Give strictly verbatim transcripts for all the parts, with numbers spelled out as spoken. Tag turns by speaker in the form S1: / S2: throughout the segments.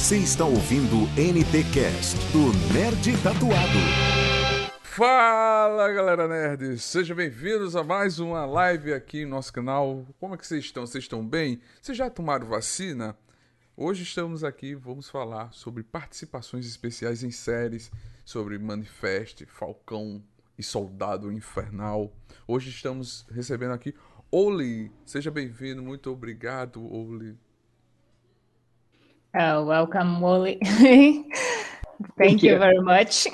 S1: Você está ouvindo o N T Cast do Nerd Tatuado.
S2: Fala, galera nerd! Sejam bem-vindos a mais uma live aqui no nosso canal. Como é que vocês estão? Vocês estão bem? Vocês já tomaram vacina? Hoje estamos aqui, vamos falar sobre participações especiais em séries, sobre Manifest, Falcão e Soldado Infernal. Hoje estamos recebendo aqui Oli. Seja bem-vindo, muito obrigado, Oli.
S3: Oh, welcome, Wally. Thank, Thank you. you very much.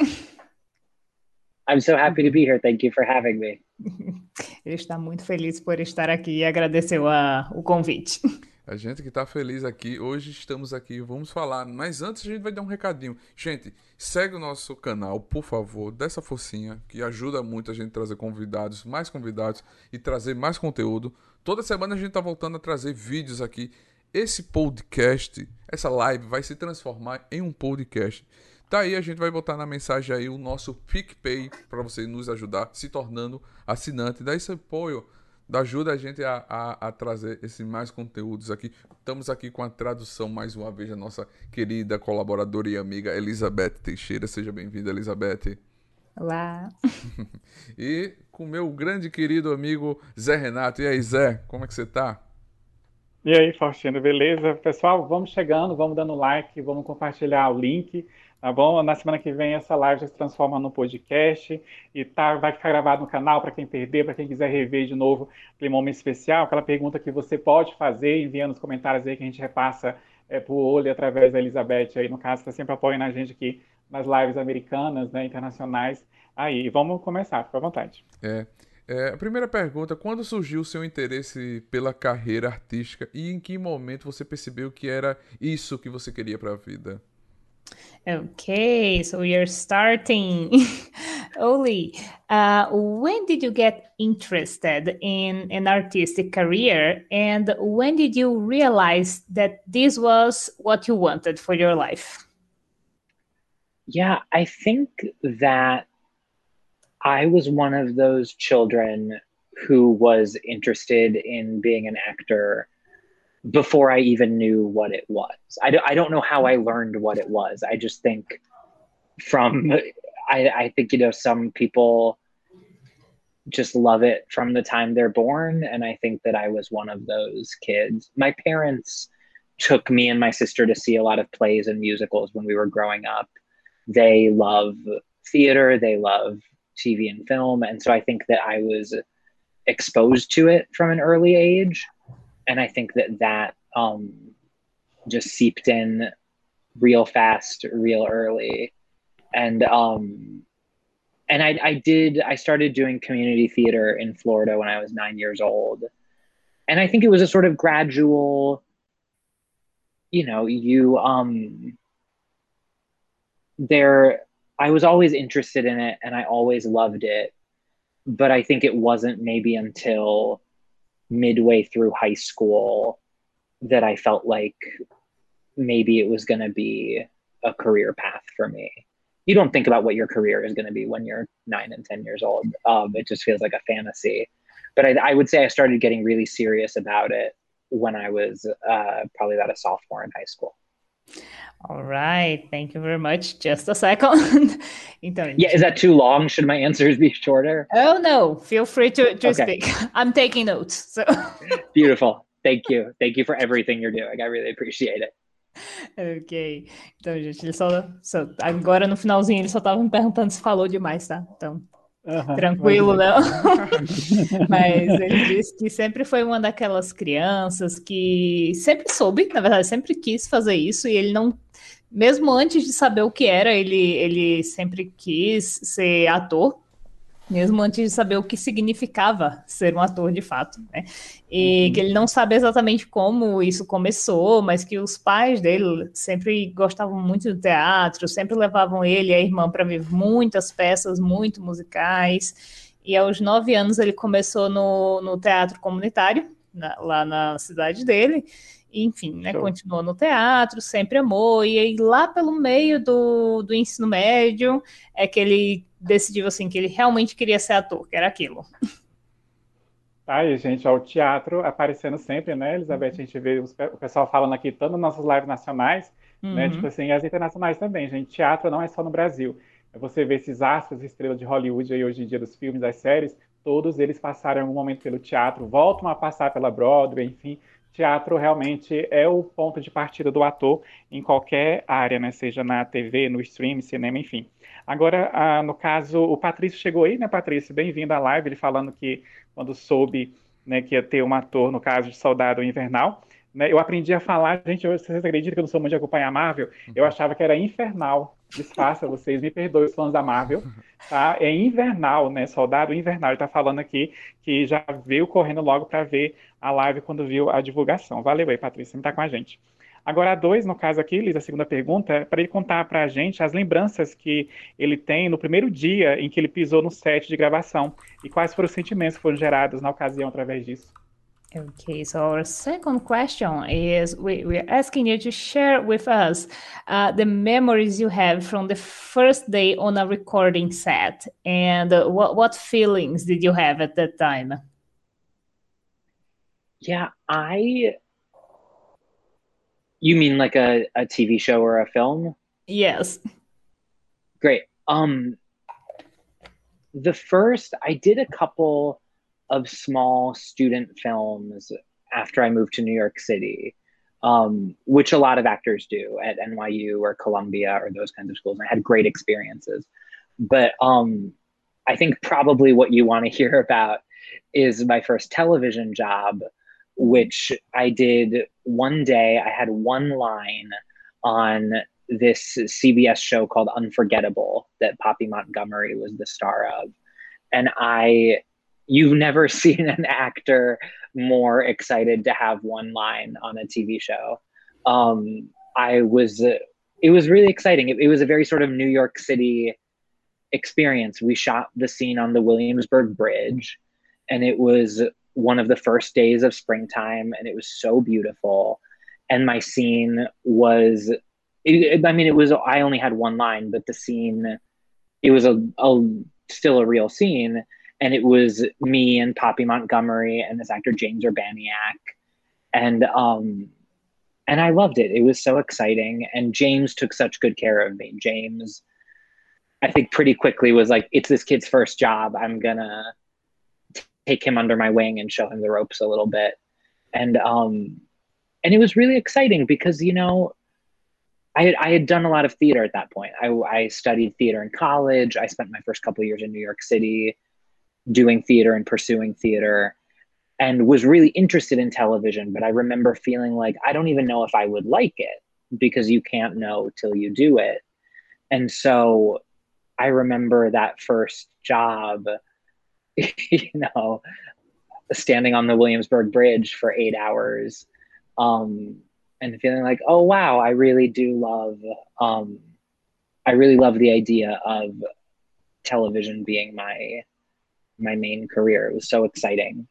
S4: I'm so happy to be here. Thank you for having me.
S3: Ele está muito feliz por estar aqui e agradeceu a, o convite.
S2: A gente que está feliz aqui, hoje estamos aqui, vamos falar, mas antes a gente vai dar um recadinho. Gente, segue o nosso canal, por favor, dá essa forcinha, que ajuda muito a gente a trazer convidados, mais convidados e trazer mais conteúdo. Toda semana a gente está voltando a trazer vídeos aqui. Esse podcast, essa live vai se transformar em um podcast. Tá aí, a gente vai botar na mensagem aí o nosso PicPay para você nos ajudar, se tornando assinante. Dá esse apoio, ajuda a gente a, a, a trazer esses mais conteúdos aqui. Estamos aqui com a tradução mais uma vez da nossa querida colaboradora e amiga Elizabeth Teixeira. Seja bem-vinda, Elizabeth.
S3: Olá.
S2: E com meu grande querido amigo Zé Renato. E aí, Zé, como é que você tá?
S5: E aí, Faustino, beleza? Pessoal, vamos chegando, vamos dando like, vamos compartilhar o link, tá bom? Na semana que vem essa live já se transforma no podcast e tá, vai ficar gravado no canal para quem perder, para quem quiser rever de novo aquele momento especial, aquela pergunta que você pode fazer, enviando nos comentários aí que a gente repassa é, pro olho através da Elizabeth aí, no caso, está sempre apoiando a gente aqui nas lives americanas, né, internacionais. Aí, vamos começar, fica à vontade.
S2: É. É, a primeira pergunta, quando surgiu o seu interesse pela carreira artística e em que momento você percebeu que era isso que você queria para a vida?
S3: Okay, so we are starting. Oli, uh, when did you get interested in an artistic career and when did you realize that this was what you wanted for your life?
S4: Yeah, I think that I was one of those children who was interested in being an actor before I even knew what it was. I, do, I don't know how I learned what it was. I just think from, I, I think, you know, some people just love it from the time they're born. And I think that I was one of those kids. My parents took me and my sister to see a lot of plays and musicals when we were growing up. They love theater. They love T V and film. And so I think that I was exposed to it from an early age. And I think that that um, just seeped in real fast, real early. And um, and I, I did, I started doing community theater in Florida when I was nine years old. And I think it was a sort of gradual, you know, you, um, there, I was always interested in it and I always loved it. But I think it wasn't maybe until midway through high school that I felt like maybe it was going to be a career path for me. You don't think about what your career is going to be when you're nine and ten years old. Um, it just feels like a fantasy. But I, I would say I started getting really serious about it when I was uh, probably about a sophomore in high school.
S3: All right, thank you very much. Just a second. Então,
S4: yeah, is that too long? Should my answers be shorter?
S3: Oh, no. Feel free to, to
S4: okay.
S3: speak. I'm taking notes. So.
S4: Beautiful. Thank you. Thank you for everything you're doing. I really appreciate it.
S3: Ok. Então, gente, ele só, só... Agora, no finalzinho, ele só estava me perguntando se falou demais, tá? Então, uhum, tranquilo, não? Mas ele disse que sempre foi uma daquelas crianças que sempre soube, na verdade, sempre quis fazer isso e ele não... Mesmo antes de saber o que era, ele, ele sempre quis ser ator, mesmo antes de saber o que significava ser um ator de fato, né? E uhum. que ele não sabe exatamente como isso começou, mas que os pais dele sempre gostavam muito do teatro, sempre levavam ele e a irmã para ver muitas peças, muito musicais, e aos nove anos ele começou no, no teatro comunitário, na, lá na cidade dele, enfim, né, continuou no teatro, sempre amou, e aí lá pelo meio do, do ensino médio é que ele decidiu assim, que ele realmente queria ser ator, que era aquilo.
S5: Aí, gente, ó, o teatro aparecendo sempre, né, Elizabeth? A gente vê os, o pessoal falando aqui, tanto nas nossas lives nacionais, né? Tipo
S3: Uhum.
S5: assim, e as internacionais também, gente. Teatro não é só no Brasil. Você vê esses astros, estrelas de Hollywood aí hoje em dia, dos filmes, das séries, todos eles passaram em algum momento pelo teatro, voltam a passar pela Broadway, enfim. Teatro realmente é o ponto de partida do ator em qualquer área, né? Seja na T V, no stream, cinema, enfim. Agora, ah, no caso, o Patrício chegou aí, né, Patrício? Bem-vindo à live, ele falando que quando soube, né, que ia ter um ator, no caso de Soldado Invernal, né, eu aprendi a falar, gente, vocês acreditam que eu não sou muito de acompanhar a Marvel? Eu achava que era Infernal. Disfarça vocês, me perdoem os fãs da Marvel, tá? É Invernal, né? Soldado Invernal. Ele tá falando aqui que já veio correndo logo para ver a live quando viu a divulgação. Valeu aí, Patrícia, me tá com a gente. Agora, a dois, no caso aqui, Liz, a segunda pergunta, é para ele contar para a gente as lembranças que ele tem no primeiro dia em que ele pisou no set de gravação e quais foram os sentimentos que foram gerados na ocasião através disso.
S3: Okay, so our second question is we, we're asking you to share with us uh, the memories you have from the first day on a recording set and uh, what, what feelings did you have at that time?
S4: Yeah, I. You mean like a, a T V show or a film?
S3: Yes.
S4: Great. Um, the first, I did a couple of small student films after I moved to New York City, um, which a lot of actors do at N Y U or Columbia or those kinds of schools. And I had great experiences. But um, I think probably what you want to hear about is my first television job, which I did one day. I had one line on this C B S show called Unforgettable that Poppy Montgomery was the star of. And I, you've never seen an actor more excited to have one line on a T V show. Um, I was, it was really exciting. It, it was a very sort of New York City experience. We shot the scene on the Williamsburg Bridge, and it was one of the first days of springtime, and it was so beautiful. And my scene was, it, I mean, it was, I only had one line, but the scene, it was a, a still a real scene. And it was me and Poppy Montgomery and this actor, James Urbaniak. And, um, and I loved it. It was so exciting. And James took such good care of me. James, I think pretty quickly was like, it's this kid's first job. I'm gonna take him under my wing and show him the ropes a little bit. And, um, and it was really exciting because, you know, I had, I had done a lot of theater at that point. I, I studied theater in college. I spent my first couple of years in New York City doing theater and pursuing theater and was really interested in television. But I remember feeling like, I don't even know if I would like it because you can't know till you do it. And so I remember that first job, you know, standing on the Williamsburg Bridge for eight hours um, and feeling like, oh, wow, I really do love, um, I really love the idea of television being my, my main career. It was so exciting.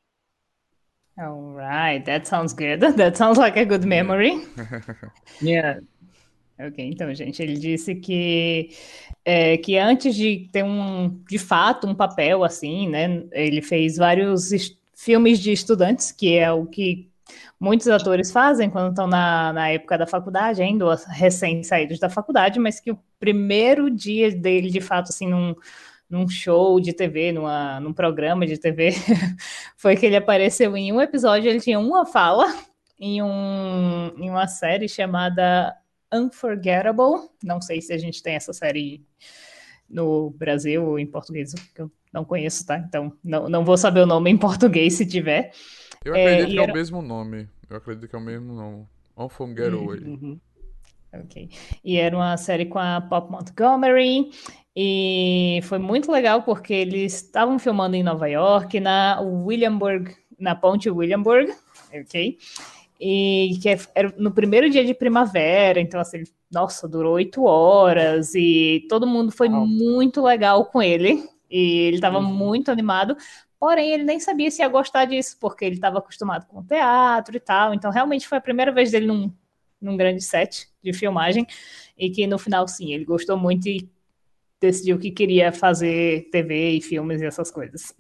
S3: All right, that sounds good. That sounds like a good memory.
S4: Yeah.
S3: Ok, então, gente, ele disse que, é, que antes de ter um, de fato, um papel assim, né, ele fez vários est- filmes de estudantes, que é o que muitos atores fazem quando estão na, na época da faculdade, ainda ou recém-saídos da faculdade, mas que o primeiro dia dele, de fato, assim, num, num show de T V, numa, num programa de T V, foi que ele apareceu em um episódio, ele tinha uma fala em, um, em uma série chamada Unforgettable. Não sei se a gente tem essa série no Brasil ou em português, que eu não conheço, tá? Então não, não vou saber o nome em português se tiver.
S2: Eu
S3: É,
S2: acredito
S3: e
S2: que é o
S3: era...
S2: mesmo nome. Eu acredito que é o mesmo nome. Unforgettable.
S5: Uhum.
S3: Ok. E era uma série com a Pop Montgomery. E foi muito legal porque eles estavam filmando em Nova York, na Williamsburg, na ponte Williamsburg, ok? E que era no primeiro dia de primavera, então assim, nossa, durou oito horas e todo mundo foi
S5: Uau.
S3: muito legal com ele e ele estava
S5: Uhum.
S3: muito animado, porém ele nem sabia se ia gostar disso, porque ele estava acostumado com teatro e tal, então realmente foi a primeira vez dele num, num grande set de filmagem e que no final, sim, ele gostou muito e decidiu que queria fazer T V e filmes e essas coisas.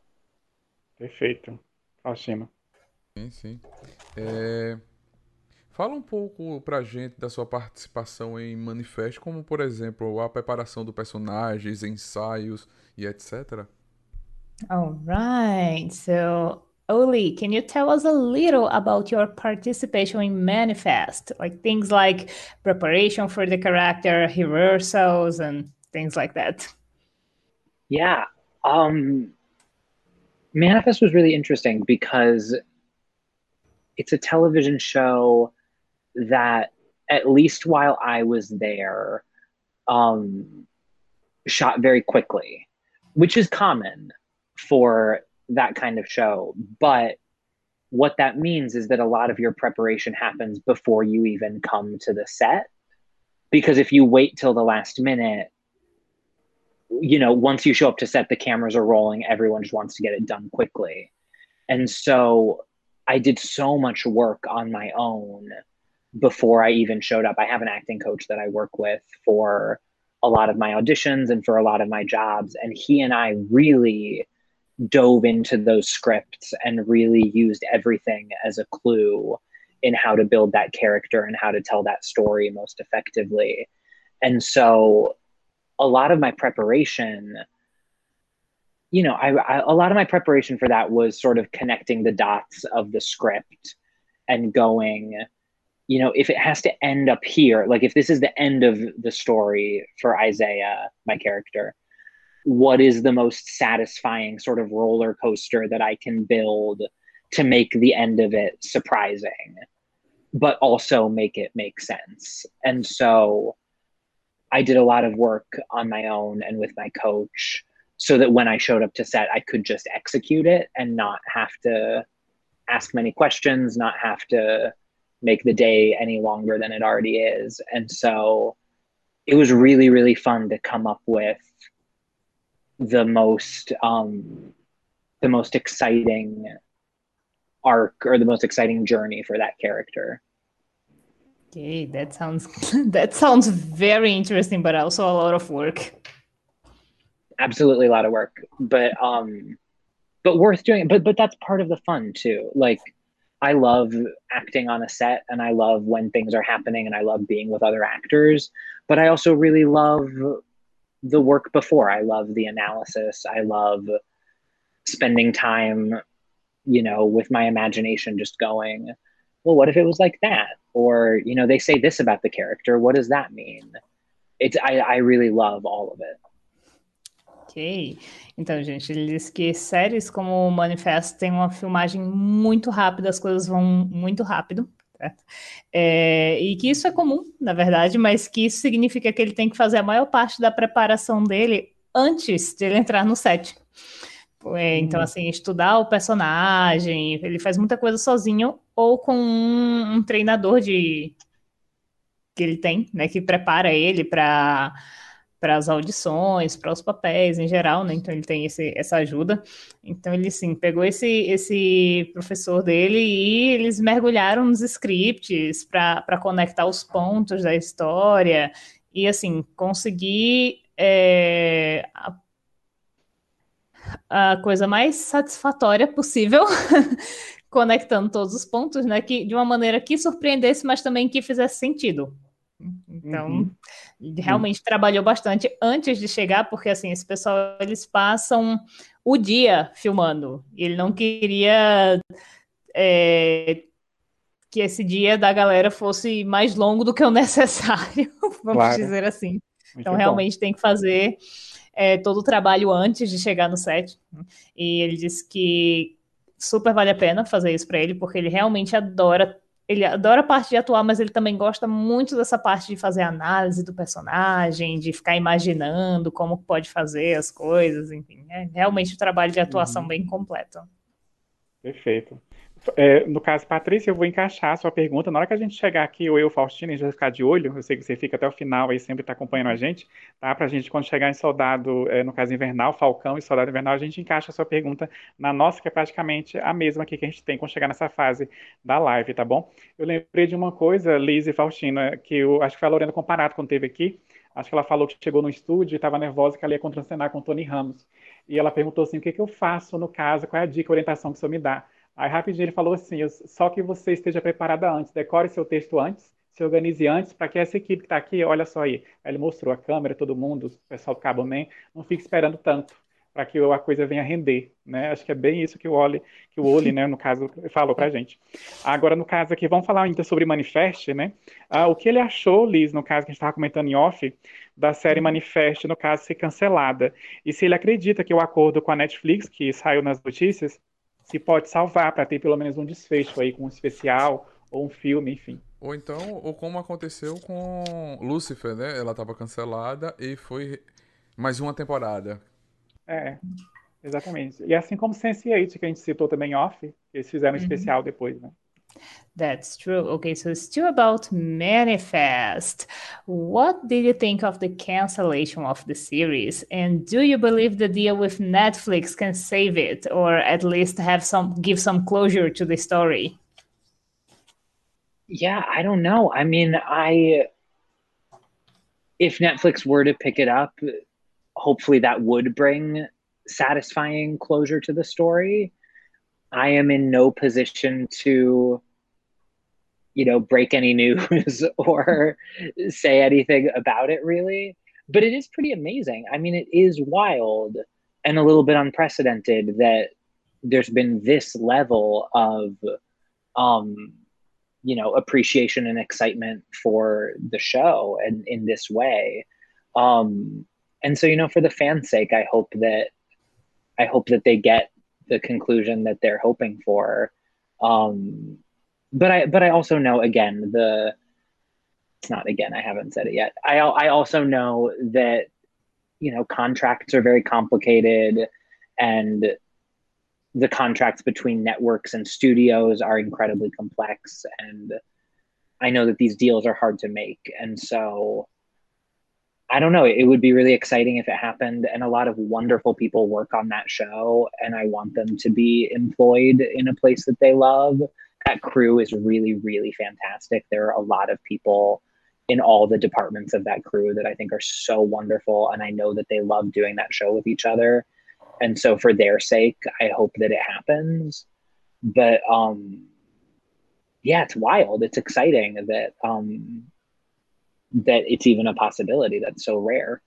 S5: Perfeito. Faustino.
S2: Sim, sim. É... Fala um pouco pra gente da sua participação em Manifest, como por exemplo a preparação do personagens, ensaios e etcétera.
S3: All right. So, Oli, can you tell us a little about your participation in Manifest? Like things like preparation for the character, rehearsals, and things like that.
S4: Yeah. Um, Manifest was really interesting because it's a television show that, at least while I was there, um, shot very quickly, which is common for that kind of show. But what that means is that a lot of your preparation happens before you even come to the set. Because if you wait till the last minute, you know, once you show up to set, the cameras are rolling, everyone just wants to get it done quickly. And so I did so much work on my own before I even showed up. I have an acting coach that I work with for a lot of my auditions and for a lot of my jobs. And he and I really dove into those scripts and really used everything as a clue in how to build that character and how to tell that story most effectively. And so a lot of my preparation, you know, I, I, a lot of my preparation for that was sort of connecting the dots of the script and going, you know, if it has to end up here, like if this is the end of the story for Isaiah, my character, what is the most satisfying sort of roller coaster that I can build to make the end of it surprising, but also make it make sense? And so I did a lot of work on my own and with my coach so that when I showed up to set, I could just execute it and not have to ask many questions, not have to make the day any longer than it already is. And so it was really, really fun to come up with the most um, the most exciting arc or the most exciting journey for that character.
S3: Okay, that sounds that sounds very interesting, but also a lot of work.
S4: Absolutely a lot of work, but um, but worth doing. But but that's part of the fun too. Like, I love acting on a set and I love when things are happening and I love being with other actors, but I also really love the work before. I love the analysis. I love spending time, you know, with my imagination just going, well, what if it was like that? Or, you know, they say this about the character. What does that mean? It's, I, I really love all of it.
S3: Ok, então, gente, ele diz que séries como o Manifesto tem uma filmagem muito rápida, as coisas vão muito rápido, certo? É, e que isso é comum, na verdade, mas que isso significa que ele tem que fazer a maior parte da preparação dele antes de ele entrar no set. É, então, assim, estudar o personagem, ele faz muita coisa sozinho ou com um, um treinador de que ele tem, né, que prepara ele para para as audições, para os papéis em geral, né? Então ele tem esse, essa ajuda. Então ele, sim, pegou esse, esse professor dele e eles mergulharam nos scripts para conectar os pontos da história e, assim, conseguir é, a, a coisa mais satisfatória possível conectando todos os pontos, né? Que, de uma maneira que surpreendesse, mas também que fizesse sentido. Então, uhum. Ele realmente uhum. trabalhou bastante antes de chegar, porque, assim, esse pessoal, eles passam o dia filmando. E ele não queria é, que esse dia da galera fosse mais longo do que o necessário, vamos claro. dizer assim. Muito então, bom. Realmente tem que fazer é, todo o trabalho antes de chegar no set. E ele disse que super vale a pena fazer isso para ele, porque ele realmente adora Ele adora a parte de atuar, mas ele também gosta muito dessa parte de fazer análise do personagem, de ficar imaginando como pode fazer as coisas, enfim. É realmente um trabalho de atuação uhum. bem completo.
S5: Perfeito. É, no caso, Patrícia, eu vou encaixar a sua pergunta. Na hora que a gente chegar aqui, eu e o Faustino, a gente vai ficar de olho. Eu sei que você fica até o final aí, sempre está acompanhando a gente, tá? Pra gente, quando chegar em Soldado, é, no caso Invernal, Falcão e Soldado Invernal, a gente encaixa a sua pergunta na nossa, que é praticamente a mesma aqui que a gente tem quando chegar nessa fase da live, tá bom? Eu lembrei de uma coisa, Liz e Faustino, que eu acho que foi a Lorena Comparato quando teve aqui. Acho que ela falou que chegou no estúdio e estava nervosa que ela ia contracenar com o Tony Ramos. E ela perguntou assim, o que, que eu faço no caso, qual é a dica, a orientação que o senhor me dá? Aí rapidinho ele falou assim, eu- só que você esteja preparada antes, decore seu texto antes, se organize antes, para que essa equipe que está aqui, olha só aí. Aí ele mostrou a câmera, todo mundo, o pessoal do Cabo Man, não fique esperando tanto para que a coisa venha render, né? Acho que é bem isso que o Oli, que o Oli, né, no caso, falou pra gente. Agora, no caso aqui, vamos falar ainda sobre Manifest, né? Ah, o que ele achou, Liz, no caso que a gente estava comentando em off, da série Manifest, no caso, ser cancelada. E se ele acredita que o acordo com a Netflix, que saiu nas notícias, se pode salvar para ter pelo menos um desfecho aí com um especial ou um filme, enfim.
S2: Ou então, ou como aconteceu com Lucifer, né? Ela estava cancelada e foi mais uma temporada.
S5: É, exatamente. E assim como sense eight, que a gente citou também em off, eles fizeram um especial depois, né?
S3: That's true. Okay, so still about Manifest. What did you think of the cancellation of the series? And do you believe the deal with Netflix can save it, or at least have some give some closure to the story?
S4: Yeah, I don't know. I mean, I if Netflix were to pick it up, hopefully that would bring satisfying closure to the story. I am in no position to, you know, break any news or say anything about it really. But it is pretty amazing. I mean, it is wild and a little bit unprecedented that there's been this level of um you know appreciation and excitement for the show and in this way. Um and so, you know, for the fans' sake, I hope that I hope that they get the conclusion that they're hoping for. Um, but I but I also know, again, the it's not again, I haven't said it yet. I I also know that, you know, contracts are very complicated, and the contracts between networks and studios are incredibly complex, and I know that these deals are hard to make. And so I don't know. It would be really exciting if it happened. And a lot of wonderful people work on that show, and I want them to be employed in a place that they love. That crew is really, really fantastic. There are a lot of people in all the departments of that crew that I think are so wonderful. And I know that they love doing that show with each other. And so for their sake, I hope that it happens. But um, yeah, it's wild. It's exciting that um, that it's even a possibility. That's so rare.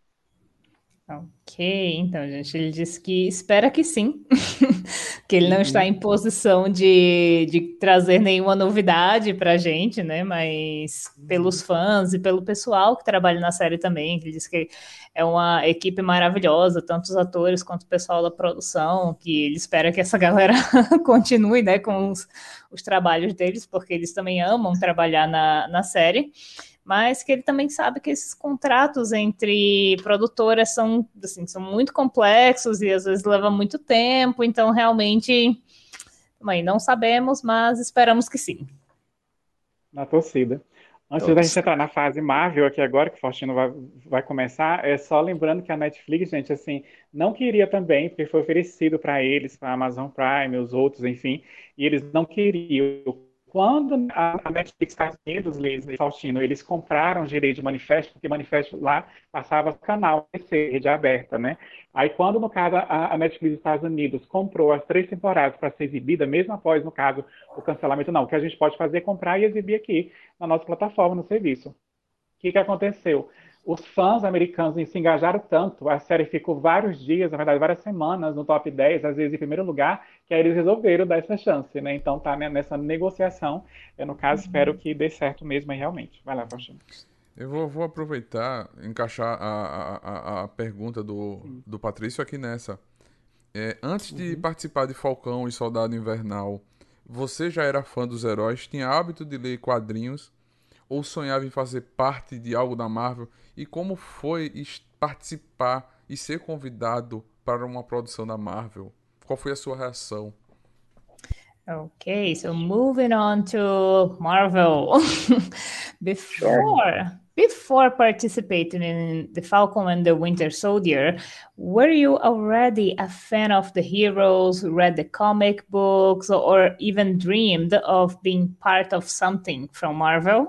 S3: Ok, então, gente, ele disse que espera que sim, que ele não está em posição de, de trazer nenhuma novidade para a gente, né? Mas pelos fãs e pelo pessoal que trabalha na série também, ele disse que é uma equipe maravilhosa, tanto os atores quanto o pessoal da produção, que ele espera que essa galera continue, né, com os, os trabalhos deles, porque eles também amam trabalhar na, na série. Mas que ele também sabe que esses contratos entre produtoras são, assim, são muito complexos e às vezes leva muito tempo, então realmente também não sabemos, mas esperamos que sim.
S5: Na torcida. Antes
S3: Todos.
S5: da gente entrar na fase Marvel aqui agora, que o Faustino vai, vai começar, é só lembrando que a Netflix, gente, assim, não queria também, porque foi oferecido para eles, para a Amazon Prime, os outros, enfim, e eles não queriam. Quando a Netflix Estados Unidos, Liz e Faustino, eles compraram o direito de Manifesto, porque Manifesto lá passava canal, rede aberta, né? Aí quando, no caso, a Netflix Estados Unidos comprou as três temporadas para ser exibida, mesmo após, no caso, o cancelamento, não, o que a gente pode fazer é comprar e exibir aqui na nossa plataforma, no serviço. O que, que aconteceu? Os fãs americanos se engajaram tanto, a série ficou vários dias, na verdade, várias semanas no top dez, às vezes em primeiro lugar, que aí eles resolveram dar essa chance, né? Então tá nessa negociação. Eu, no caso, espero que dê certo mesmo aí, realmente. Vai lá, Faustino.
S2: Eu vou, vou aproveitar, encaixar a, a, a pergunta do, do Patrício aqui nessa. É, antes de uhum. participar de Falcão e Soldado Invernal, você já era fã dos heróis? Tinha hábito de ler quadrinhos? Ou sonhava em fazer parte de algo da Marvel? E como foi participar e ser convidado para uma produção da Marvel? Qual foi a sua reação?
S3: Okay, so moving on to Marvel. before before participating in the Falcon and the Winter Soldier, were you already a fan of the heroes, read the comic books, or even dreamed of being part of something from Marvel?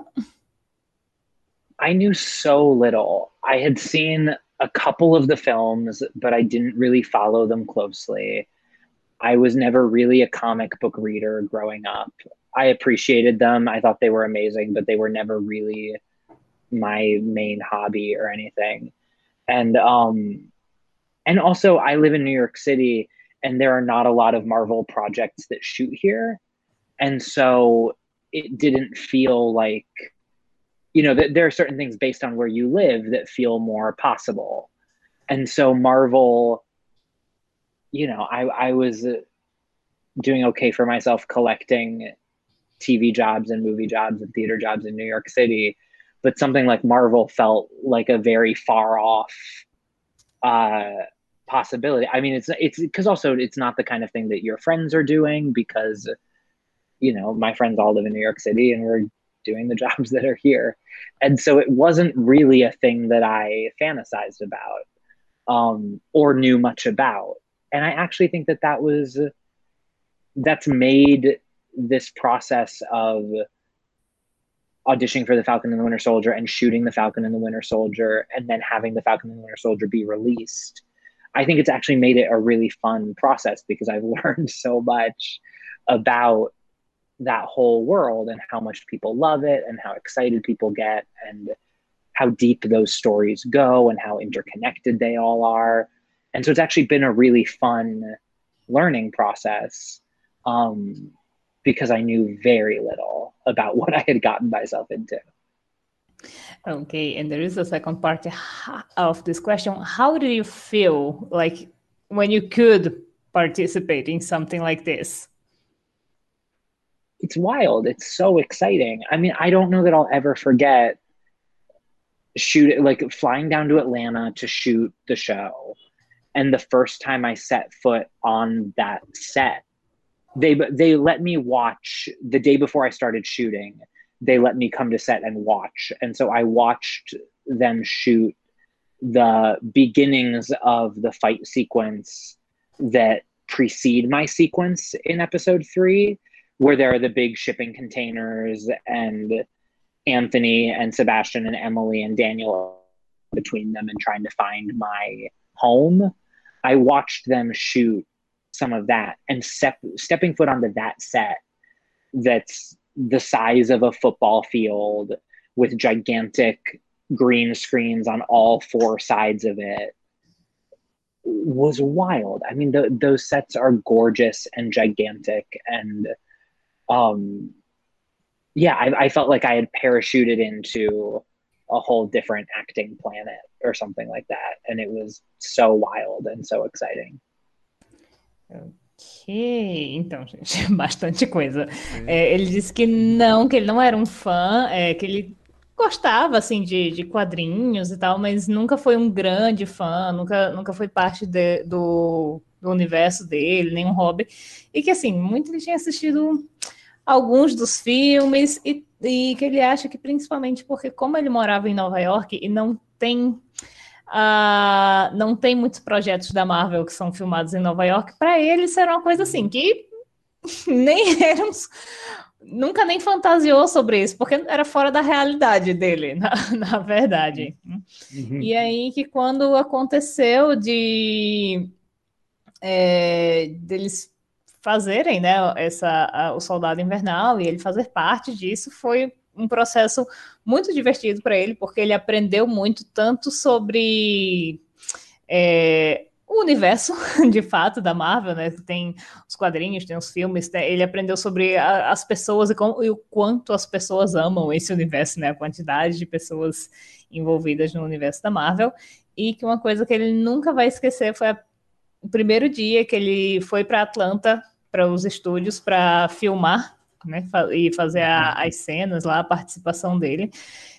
S4: I knew so little. I had seen a couple of the films, but I didn't really follow them closely. I was never really a comic book reader growing up. I appreciated them. I thought they were amazing, but they were never really my main hobby or anything. And um, and also, I live in New York City, and there are not a lot of Marvel projects that shoot here. And so it didn't feel like, you know, that there are certain things based on where you live that feel more possible. And so Marvel, you know, I, I was doing okay for myself collecting T V jobs and movie jobs and theater jobs in New York City. But something like Marvel felt like a very far off uh, possibility. I mean, it's it's because also it's not the kind of thing that your friends are doing, because, you know, my friends all live in New York City and we're doing the jobs that are here. And so it wasn't really a thing that I fantasized about um, or knew much about. And I actually think that that was, that's made this process of auditioning for the Falcon and the Winter Soldier and shooting the Falcon and the Winter Soldier and then having the Falcon and the Winter Soldier be released. I think it's actually made it a really fun process, because I've learned so much about that whole world and how much people love it and how excited people get and how deep those stories go and how interconnected they all are. And so it's actually been a really fun learning process, um, because I knew very little about what I had gotten myself into.
S3: Okay, and there is a second part of this question. How do you feel like when you could participate in something like this?
S4: It's wild. It's so exciting. I mean, I don't know that I'll ever forget shoot like flying down to Atlanta to shoot the show. And the first time I set foot on that set, they they let me watch the day before I started shooting. They let me come to set and watch. And so I watched them shoot the beginnings of the fight sequence that precede my sequence in episode three, where there are the big shipping containers and Anthony and Sebastian and Emily and Daniel between them and trying to find my home. I watched them shoot some of that, and step, stepping foot onto that set that's the size of a football field with gigantic green screens on all four sides of it was wild. I mean, the, those sets are gorgeous and gigantic. And um, yeah, I, I felt like I had parachuted into a whole different acting planet or something like that. And it was so wild and so exciting.
S3: Ok, então, gente, bastante coisa. É, ele disse que não, que ele não era um fã, é, que ele gostava, assim, de, de quadrinhos e tal, mas nunca foi um grande fã, nunca, nunca foi parte de, do, do universo dele, nenhum hobby, e que, assim, muito ele tinha assistido alguns dos filmes, e, e que ele acha que, principalmente porque como ele morava em Nova York e não tem... Uh, não tem muitos projetos da Marvel que são filmados em Nova York, para ele isso era uma coisa assim, que nem eram, nunca nem fantasiou sobre isso, porque era fora da realidade dele, na, na verdade. Uhum. E aí que quando aconteceu de é, deles fazerem, né, essa, a, o Soldado Invernal e ele fazer parte disso, foi um processo muito divertido para ele, porque ele aprendeu muito tanto sobre é, o universo, de fato, da Marvel, né? Tem os quadrinhos, tem os filmes, né? Ele aprendeu sobre a, as pessoas e, como, e o quanto as pessoas amam esse universo, né? A quantidade de pessoas envolvidas no universo da Marvel, e que uma coisa que ele nunca vai esquecer foi a, o primeiro dia que ele foi para Atlanta, para os estúdios, para filmar, né, e fazer a, as cenas lá, a participação dele,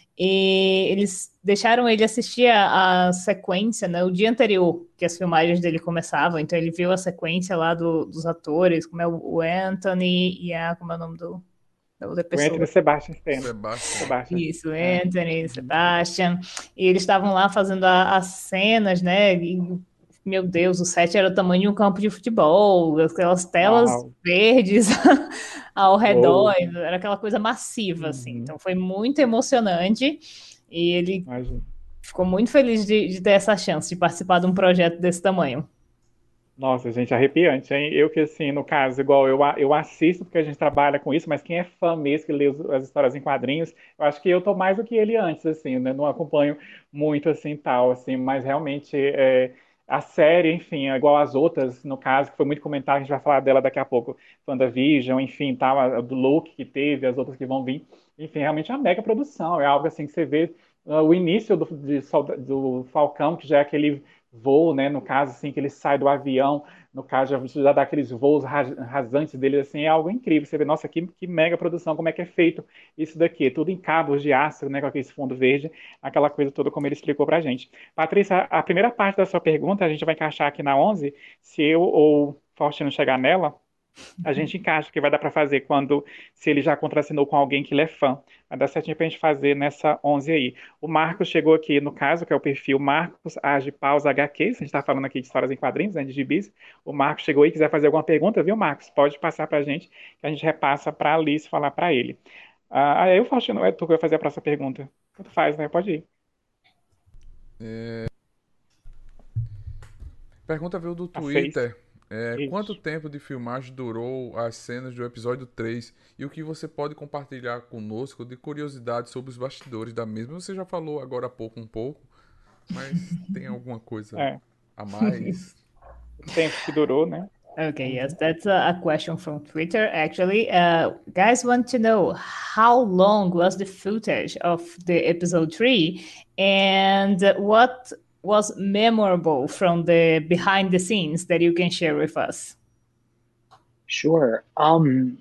S3: e eles deixaram ele assistir a, a sequência, né, o dia anterior que as filmagens dele começavam, então ele viu a sequência lá do, dos atores, como é o Anthony e a, como é o nome do, da outra pessoa?
S5: O Anthony Sebastian
S2: Sebastian.
S3: Isso, Anthony, é. Sebastian, e eles estavam lá fazendo a, as cenas, né, e meu Deus, o set era o tamanho de um campo de futebol, aquelas telas Uau. verdes ao redor, oh. era aquela coisa massiva, assim. Uhum. Então foi muito emocionante e ele Imagina. ficou muito feliz de, de ter essa chance de participar de um projeto desse tamanho.
S5: Nossa, gente, arrepiante, hein? Eu que, assim, no caso, igual eu, a- eu assisto porque a gente trabalha com isso, mas quem é fã mesmo, que lê os- as histórias em quadrinhos, eu acho que eu tô mais do que ele antes, assim, né? Não acompanho muito, assim, tal, assim, mas realmente é, a série, enfim, é igual as outras, no caso, que foi muito comentado, a gente vai falar dela daqui a pouco, WandaVision, enfim, tal, a, a do Loki que teve, as outras que vão vir, enfim, realmente é uma mega produção, é algo, assim, que você vê ah, o início do, de solda- do Falcão, que já é aquele voo, né? No caso, assim, que ele sai do avião, no caso, já, já dá aqueles voos rasantes dele, assim, é algo incrível. Você vê, nossa, que, que mega produção, como é que é feito isso daqui? Tudo em cabos de aço, né? Com aquele fundo verde, aquela coisa toda, como ele explicou pra gente. Patrícia, a primeira parte da sua pergunta, a gente vai encaixar aqui na onze, se eu ou Faustino chegar nela, a gente encaixa, que vai dar para fazer quando, se ele já contracenou com alguém que ele é fã. Vai dar certinho para a gente fazer nessa onze aí. O Marcos chegou aqui, no caso, que é o perfil Marcos Age Pausa H Q. A gente está falando aqui de histórias em quadrinhos, né, de gibis. O Marcos chegou aí, quiser fazer alguma pergunta, viu, Marcos? Pode passar para a gente, que a gente repassa para a Alice falar para ele. Ah, aí eu, Faustino, é tu que vai fazer a próxima pergunta. Tanto faz, né? Pode ir.
S2: É, pergunta veio do
S5: A seis.
S2: Twitter. É, quanto
S5: Isso.
S2: tempo de filmagem durou as cenas do episódio três e o que você pode compartilhar conosco de curiosidade sobre os bastidores da mesma? Você já falou agora há pouco um pouco, mas tem alguma coisa
S5: É.
S2: a mais?
S5: O tempo que durou, né?
S3: Okay, yes,
S5: Uhum.
S3: that's a, a question from Twitter. Actually, uh, guys want to know how long was the footage of the episode three, and what was memorable from the behind the scenes that you can share with us.
S4: Sure. Um,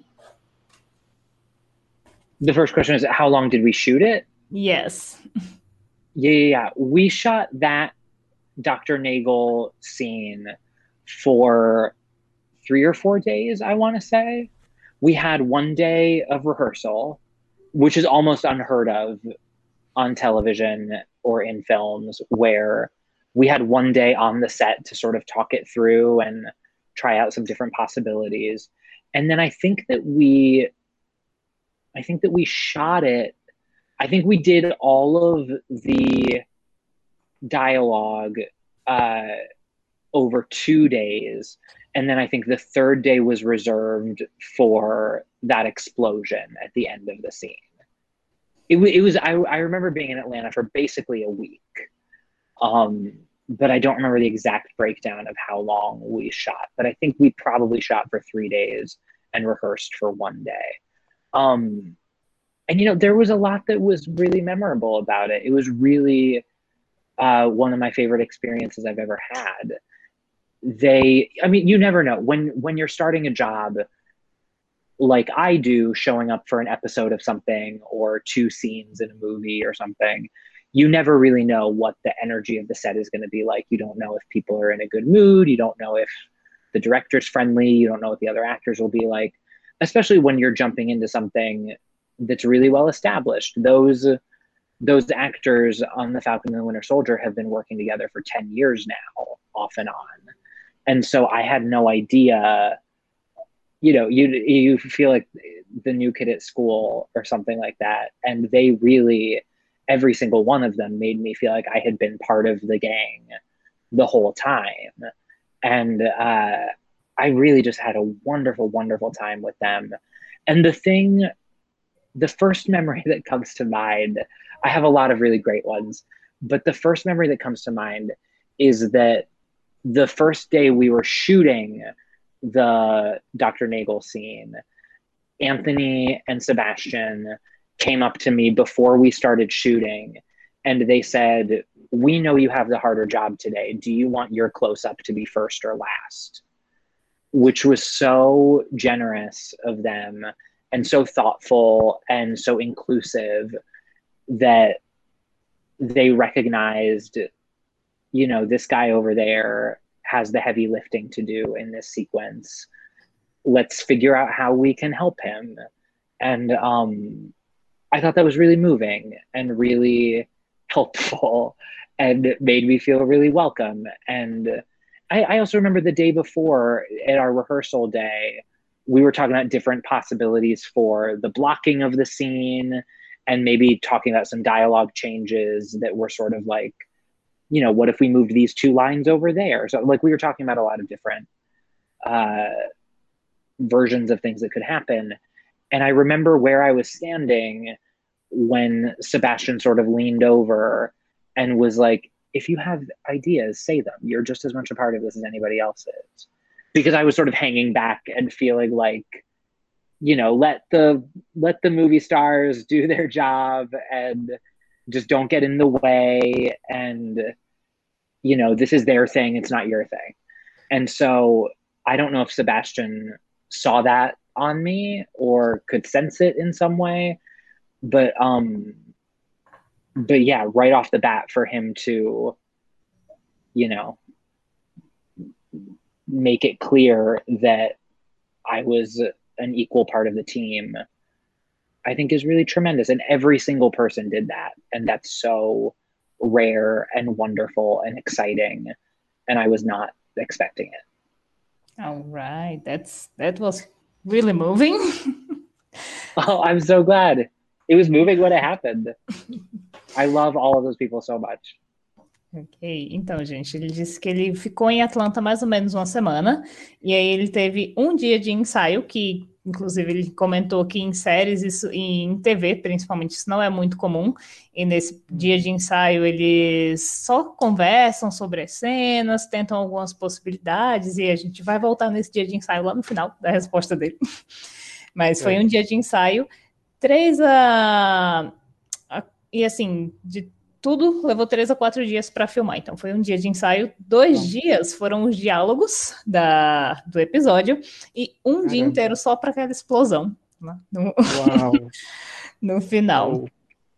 S4: the first question is, how long did we shoot it?
S3: Yes.
S4: Yeah, yeah, yeah. We shot that Doctor Nagel scene for three or four days, I want to say. We had one day of rehearsal, which is almost unheard of on television or in films, where we had one day on the set to sort of talk it through and try out some different possibilities. And then I think that we I think that we shot it. I think we did all of the dialogue uh, over two days. And then I think the third day was reserved for that explosion at the end of the scene. It, it was, I, I remember being in Atlanta for basically a week. Um, but I don't remember the exact breakdown of how long we shot. But I think we probably shot for three days and rehearsed for one day. Um, and you know, there was a lot that was really memorable about it. It was really uh, one of my favorite experiences I've ever had. They, I mean, you never know when when you're starting a job like I do, showing up for an episode of something or two scenes in a movie or something. You never really know what the energy of the set is going to be like. You don't know if people are in a good mood. You don't know if the director's friendly. You don't know what the other actors will be like, especially when you're jumping into something that's really well established. Those those actors on The Falcon and the Winter Soldier have been working together for ten years now, off and on. And so I had no idea, you know, you you feel like the new kid at school or something like that. And they really, every single one of them made me feel like I had been part of the gang the whole time. And uh, I really just had a wonderful, wonderful time with them. And the thing, the first memory that comes to mind, I have a lot of really great ones, but the first memory that comes to mind is that the first day we were shooting the Doctor Nagel scene, Anthony and Sebastian came up to me before we started shooting and they said, "We know you have the harder job today. Do you want your close-up to be first or last?" Which was so generous of them and so thoughtful and so inclusive that they recognized, you know, this guy over there has the heavy lifting to do in this sequence. Let's figure out how we can help him. And um, I thought that was really moving and really helpful and made me feel really welcome. And I, I also remember the day before at our rehearsal day, we were talking about different possibilities for the blocking of the scene and maybe talking about some dialogue changes that were sort of like you know, what if we moved these two lines over there? So like we were talking about a lot of different uh, versions of things that could happen. And I remember where I was standing when Sebastian sort of leaned over and was like, if you have ideas, say them. You're just as much a part of this as anybody else is. Because I was sort of hanging back and feeling like, you know, let the let the movie stars do their job and just don't get in the way. And, you know, this is their thing. It's not your thing. And so I don't know if Sebastian saw that on me or could sense it in some way. But um, but yeah, right off the bat for him to, you know, make it clear that I was an equal part of the team, I think is really tremendous. And every single person did that. And that's so rare and wonderful and exciting. And I was not expecting it.
S3: All right. That's that was really moving.
S4: Oh, I'm so glad. It was moving when it happened. I love all of those people so much.
S3: Ok, então, gente, ele disse que ele ficou em Atlanta mais ou menos uma semana, e aí ele teve um dia de ensaio, que inclusive ele comentou que em séries isso, e em T V, principalmente, isso não é muito comum, e nesse dia de ensaio eles só conversam sobre as cenas, tentam algumas possibilidades, e a gente vai voltar nesse dia de ensaio lá no final da resposta dele. Mas foi é. um dia de ensaio, três a... a e assim, de tudo levou três a quatro dias para filmar. Então, foi um dia de ensaio. Dois Bom. dias foram os diálogos da, do episódio e um Caramba. dia inteiro só para aquela explosão, né? no, no final. Uau.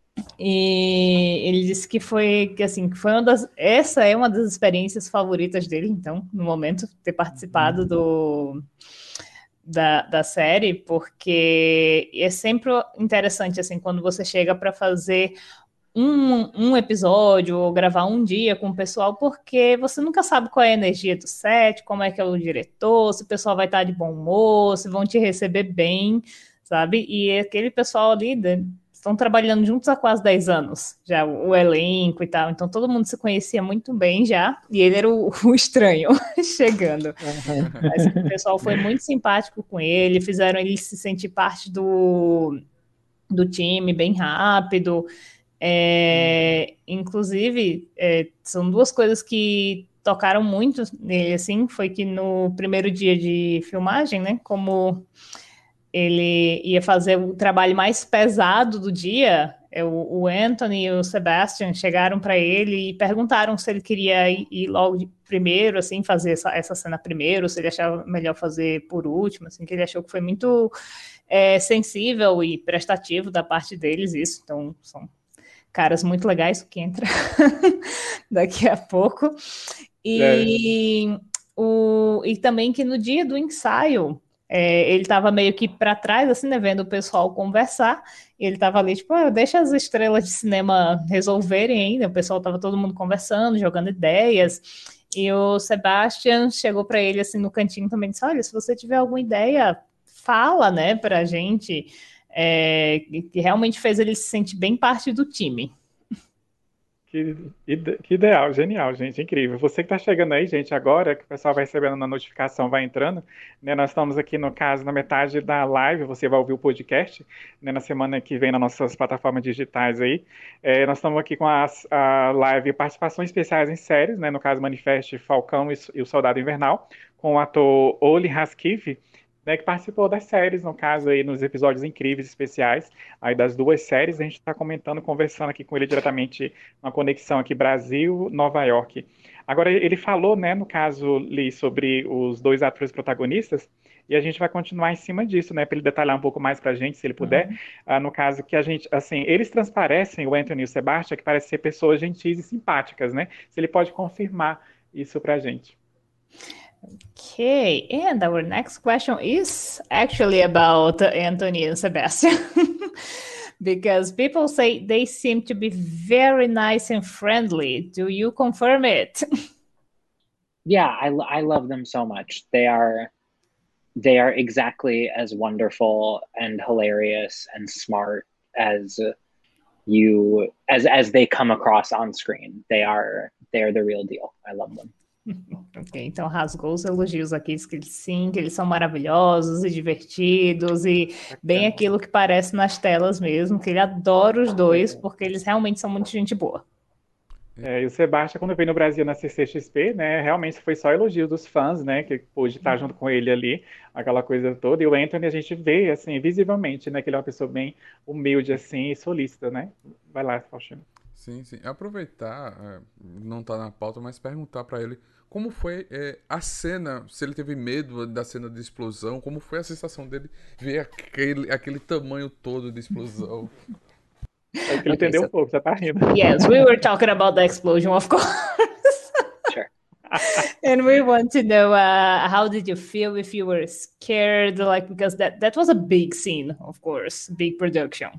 S3: E ele disse que foi que assim que foi uma das essa é uma das experiências favoritas dele. Então, no momento, ter participado do Da, da série, porque é sempre interessante assim quando você chega para fazer Um, um episódio ou gravar um dia com o pessoal, porque você nunca sabe qual é a energia do set, como é que é o diretor, se o pessoal vai estar de bom humor, se vão te receber bem, sabe? E aquele pessoal ali né, estão trabalhando juntos há quase dez anos, já o, o elenco e tal, então todo mundo se conhecia muito bem já, e ele era o, o estranho chegando. Uhum. Mas o pessoal foi muito simpático com ele, fizeram ele se sentir parte do, do time bem rápido. É, inclusive, é, são duas coisas que tocaram muito nele, assim, foi que no primeiro dia de filmagem, né, como ele ia fazer o trabalho mais pesado do dia, é, o, o Anthony e o Sebastian chegaram para ele e perguntaram se ele queria ir, ir logo de primeiro, assim, fazer essa, essa cena primeiro, se ele achava melhor fazer por último, assim, que ele achou que foi muito é, sensível e prestativo da parte deles, isso, então, são caras muito legais, que entra daqui a pouco. E, é. o, e também que no dia do ensaio, é, ele estava meio que para trás, assim, né, vendo o pessoal conversar, e ele estava ali, tipo, ah, deixa as estrelas de cinema resolverem ainda, o pessoal estava todo mundo conversando, jogando ideias, e o Sebastian chegou para ele, assim, no cantinho também, disse, olha, se você tiver alguma ideia, fala, né, pra gente. É, que realmente fez ele se sentir bem parte do time.
S5: Que, que ideal, genial, gente, incrível. Você que está chegando aí, gente, agora, que o pessoal vai recebendo na notificação, vai entrando, né, nós estamos aqui, no caso, na metade da live, você vai ouvir o podcast, né, na semana que vem nas nossas plataformas digitais aí. É, nós estamos aqui com as, a live participações especiais em séries, né, no caso, Manifeste, Falcão e, e o Soldado Invernal, com o ator Oli Haskiv, né, que participou das séries, no caso aí, nos episódios incríveis, especiais, aí das duas séries, a gente está comentando, conversando aqui com ele diretamente, uma conexão aqui Brasil-Nova York. Agora, ele falou, né, no caso, Li, sobre os dois atores protagonistas, e a gente vai continuar em cima disso, né, para ele detalhar um pouco mais para a gente, se ele puder, uhum. uh, no caso que a gente, assim, eles transparecem, o Anthony e o Sebastian, que parecem ser pessoas gentis e simpáticas, né, se ele pode confirmar isso para a gente.
S3: Okay, and our next question is actually about Anthony and Sebastian. Because people say they seem to be very nice and friendly. Do you confirm it?
S4: Yeah, I, I love them so much. They are they are exactly as wonderful and hilarious and smart as you as as they come across on screen. They are they're the real deal. I love them.
S3: Ok, então rasgou os elogios aqui, diz que eles, sim, que eles são maravilhosos e divertidos e bem aquilo que parece nas telas mesmo, que ele adora os dois, porque eles realmente são muito gente boa.
S5: É, e o Sebastião, quando veio no Brasil na C C X P, né, realmente foi só elogio dos fãs, né, que pôde estar junto com ele ali, aquela coisa toda. E o Anthony a gente vê, assim, visivelmente, né, que ele é uma pessoa bem humilde, assim, e solícita, né? Vai lá, Faustino.
S2: Sim, sim. Aproveitar, é, não tá na pauta, mas perguntar pra ele como foi é, a cena, se ele teve medo da cena de explosão, como foi a sensação dele ver aquele, aquele tamanho todo de explosão.
S5: É que ele
S3: Okay,
S5: entendeu
S3: so-
S5: um pouco, já tá rindo.
S3: Yes, we were talking about the explosion, of course.
S4: Sure.
S3: And we want to know uh, how did you feel, if you were scared, like, because that that was a big scene, of course, big production.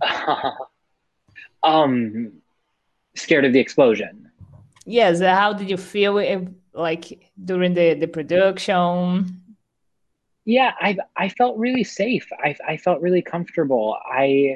S4: um, scared of the explosion.
S3: Yes, uh, how did you feel, if, like, during the the production?
S4: Yeah, I I felt really safe. I I felt really comfortable. I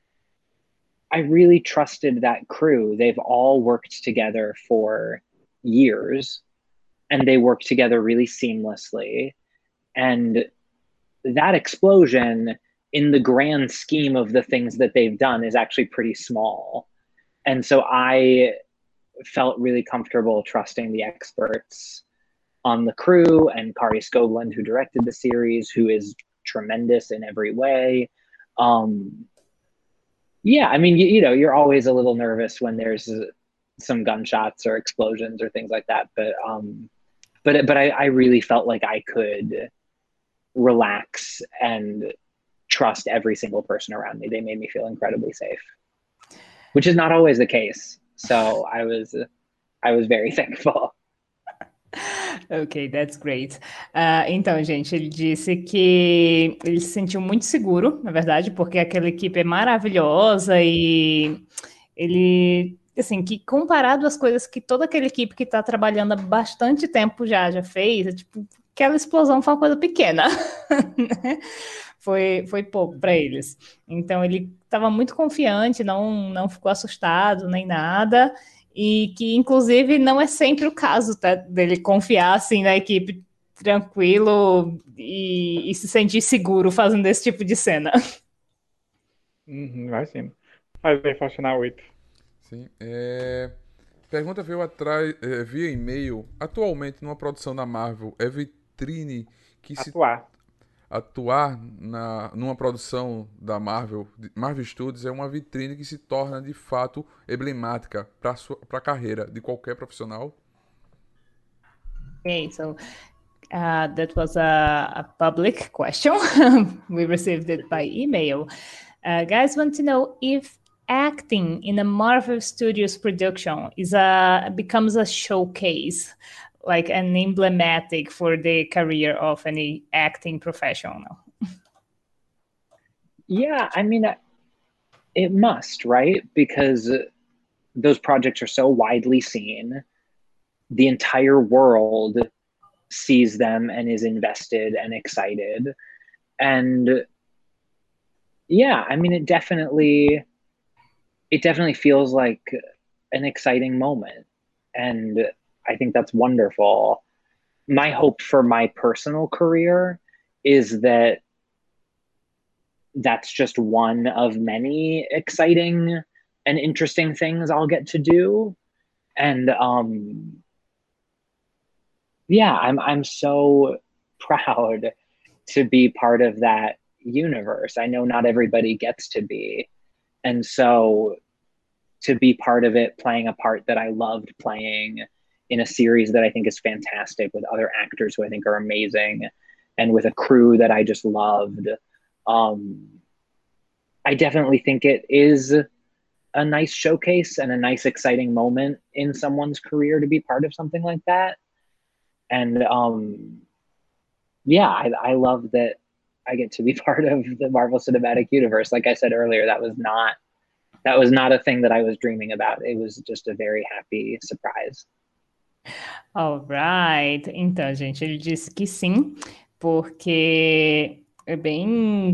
S4: I really trusted that crew. They've all worked together for years, and they work together really seamlessly. And that explosion, in the grand scheme of the things that they've done, is actually pretty small. And so I felt really comfortable trusting the experts on the crew and Kari Skogland, who directed the series, who is tremendous in every way. Um, yeah, I mean, you, you know, you're always a little nervous when there's uh, some gunshots or explosions or things like that. But um, but but I, I really felt like I could relax and trust every single person around me. They made me feel incredibly safe, which is not always the case. So I was I was very thankful.
S3: Ok, that's great. Ah, então, gente, ele disse que ele se sentiu muito seguro, na verdade, porque aquela equipe é maravilhosa e ele, assim, que comparado às coisas que toda aquela equipe que está trabalhando há bastante tempo já, já fez, é, tipo, aquela explosão foi uma coisa pequena, né? Foi, foi pouco para eles. Então, ele estava muito confiante, não, não ficou assustado nem nada. E que, inclusive, não é sempre o caso, tá? Dele confiar, assim, na equipe tranquilo e, e se sentir seguro fazendo esse tipo de cena.
S5: Uhum, imagino. Mas aí, Faustino, oito.
S2: Sim. É... Pergunta veio atrás, é, via e-mail. Atualmente, numa produção da Marvel, é vitrine que se
S5: Atuar.
S2: atuar na, numa produção da Marvel, Marvel Studios, é uma vitrine que se torna de fato emblemática para a carreira de qualquer profissional?
S3: Okay, so uh, that was a, a public question. We received it by email. Uh, guys want to know if acting in a Marvel Studios production is a becomes a showcase, like an emblematic for the career of any acting professional.
S4: Yeah, I mean, it must, right? Because those projects are so widely seen. The entire world sees them and is invested and excited. And yeah, I mean, it definitely, it definitely feels like an exciting moment. And I think that's wonderful. My hope for my personal career is that that's just one of many exciting and interesting things I'll get to do. And um, yeah, I'm I'm so proud to be part of that universe. I know not everybody gets to be. And so to be part of it, playing a part that I loved playing in a series that I think is fantastic with other actors who I think are amazing and with a crew that I just loved. Um, I definitely think it is a nice showcase and a nice, exciting moment in someone's career to be part of something like that. And um, yeah, I, I love that I get to be part of the Marvel Cinematic Universe. Like I said earlier, that was not that was not a thing that I was dreaming about. It was just a very happy surprise.
S3: Alright. Então, gente, ele disse que sim, porque é bem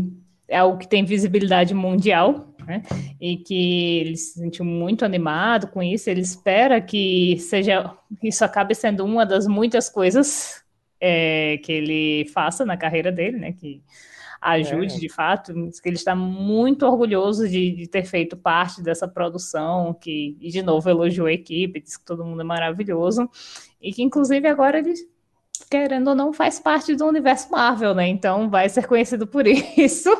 S3: é algo que tem visibilidade mundial, né? E que ele se sentiu muito animado com isso. Ele espera que seja, isso acabe sendo uma das muitas coisas é, que ele faça na carreira dele, né? Que ajude
S5: É.
S3: de fato, que ele está muito orgulhoso de, de ter feito parte dessa produção, que, e de novo elogiou a equipe, disse que todo mundo é maravilhoso, e que inclusive agora ele, querendo ou não, faz parte do universo Marvel, né? Então vai ser conhecido por isso.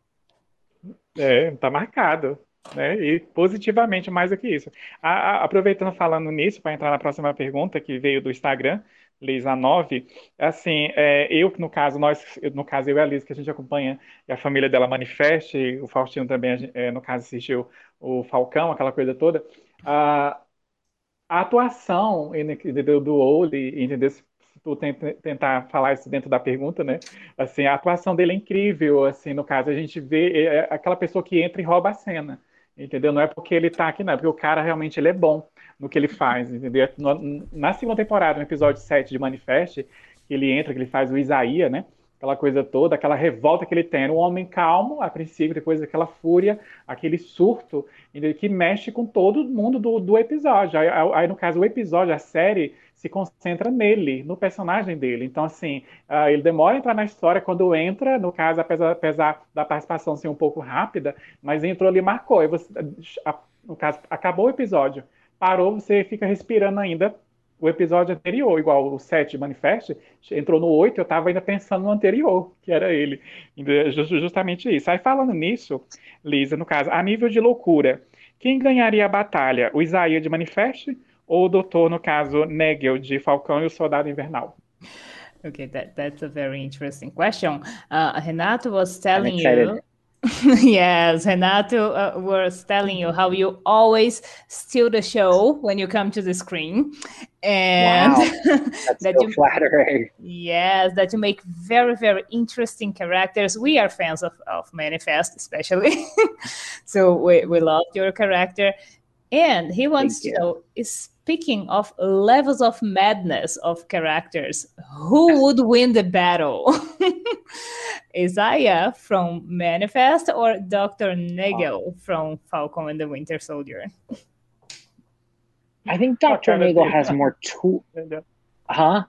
S5: É, tá marcado, né? E positivamente mais do que isso. A- a- aproveitando falando nisso, para entrar na próxima pergunta que veio do Instagram, Lisa nove, assim, é, eu, no caso, nós, eu- no caso, eu e a Liz, que a gente acompanha, e a família dela Manifeste, o Faustino também, a gen- é, no caso, assistiu o Falcão, aquela coisa toda. A, a atuação do, do Oli, entendeu? Se tu tem- tentar falar isso dentro da pergunta, né? Assim, a atuação dele é incrível, assim, no caso, a gente vê é, é aquela pessoa que entra e rouba a cena, entendeu? Não é porque ele tá aqui, não, é porque o cara realmente ele é bom no que ele faz, entendeu? No- na segunda temporada, no episódio sete de Manifest, que ele entra, que ele faz o Isaías, né? Aquela coisa toda, aquela revolta que ele tem. Era um homem calmo, a princípio, depois daquela fúria, aquele surto, entendeu? Que mexe com todo mundo do, do episódio. Aí, aí, no caso, o episódio, a série, se concentra nele, no personagem dele. Então, assim, uh, ele demora a entrar na história. Quando entra, no caso, apesar, apesar da participação ser um pouco rápida, mas entrou ali e marcou. Aí você, a, no caso, acabou o episódio, parou, você fica respirando ainda o episódio anterior, igual o sete Manifest, entrou no oito, eu estava ainda pensando no anterior, que era ele. Justamente isso. Aí falando nisso, Lisa, no caso, a nível de loucura, quem ganharia a batalha? O Isaías de Manifest ou o doutor, no caso, Nagel de Falcão e o Soldado Invernal?
S3: Okay, that, that's a very interesting question. Uh, Renato was
S4: I'm
S3: telling
S4: excited.
S3: you, yes, Renato uh, was telling you how you always steal the show when you come to the screen, and
S4: Wow, that's
S3: that
S4: so
S3: you,
S4: flattering.
S3: yes, that you make very, very interesting characters. We are fans of, of Manifest, especially, so we, we loved your character. And he wants to know, speaking of levels of madness of characters, who would win the battle? Isaiah from Manifest or Doctor Nagel from Falcon and the Winter Soldier?
S4: I think Doctor Nagel has more tools. Huh?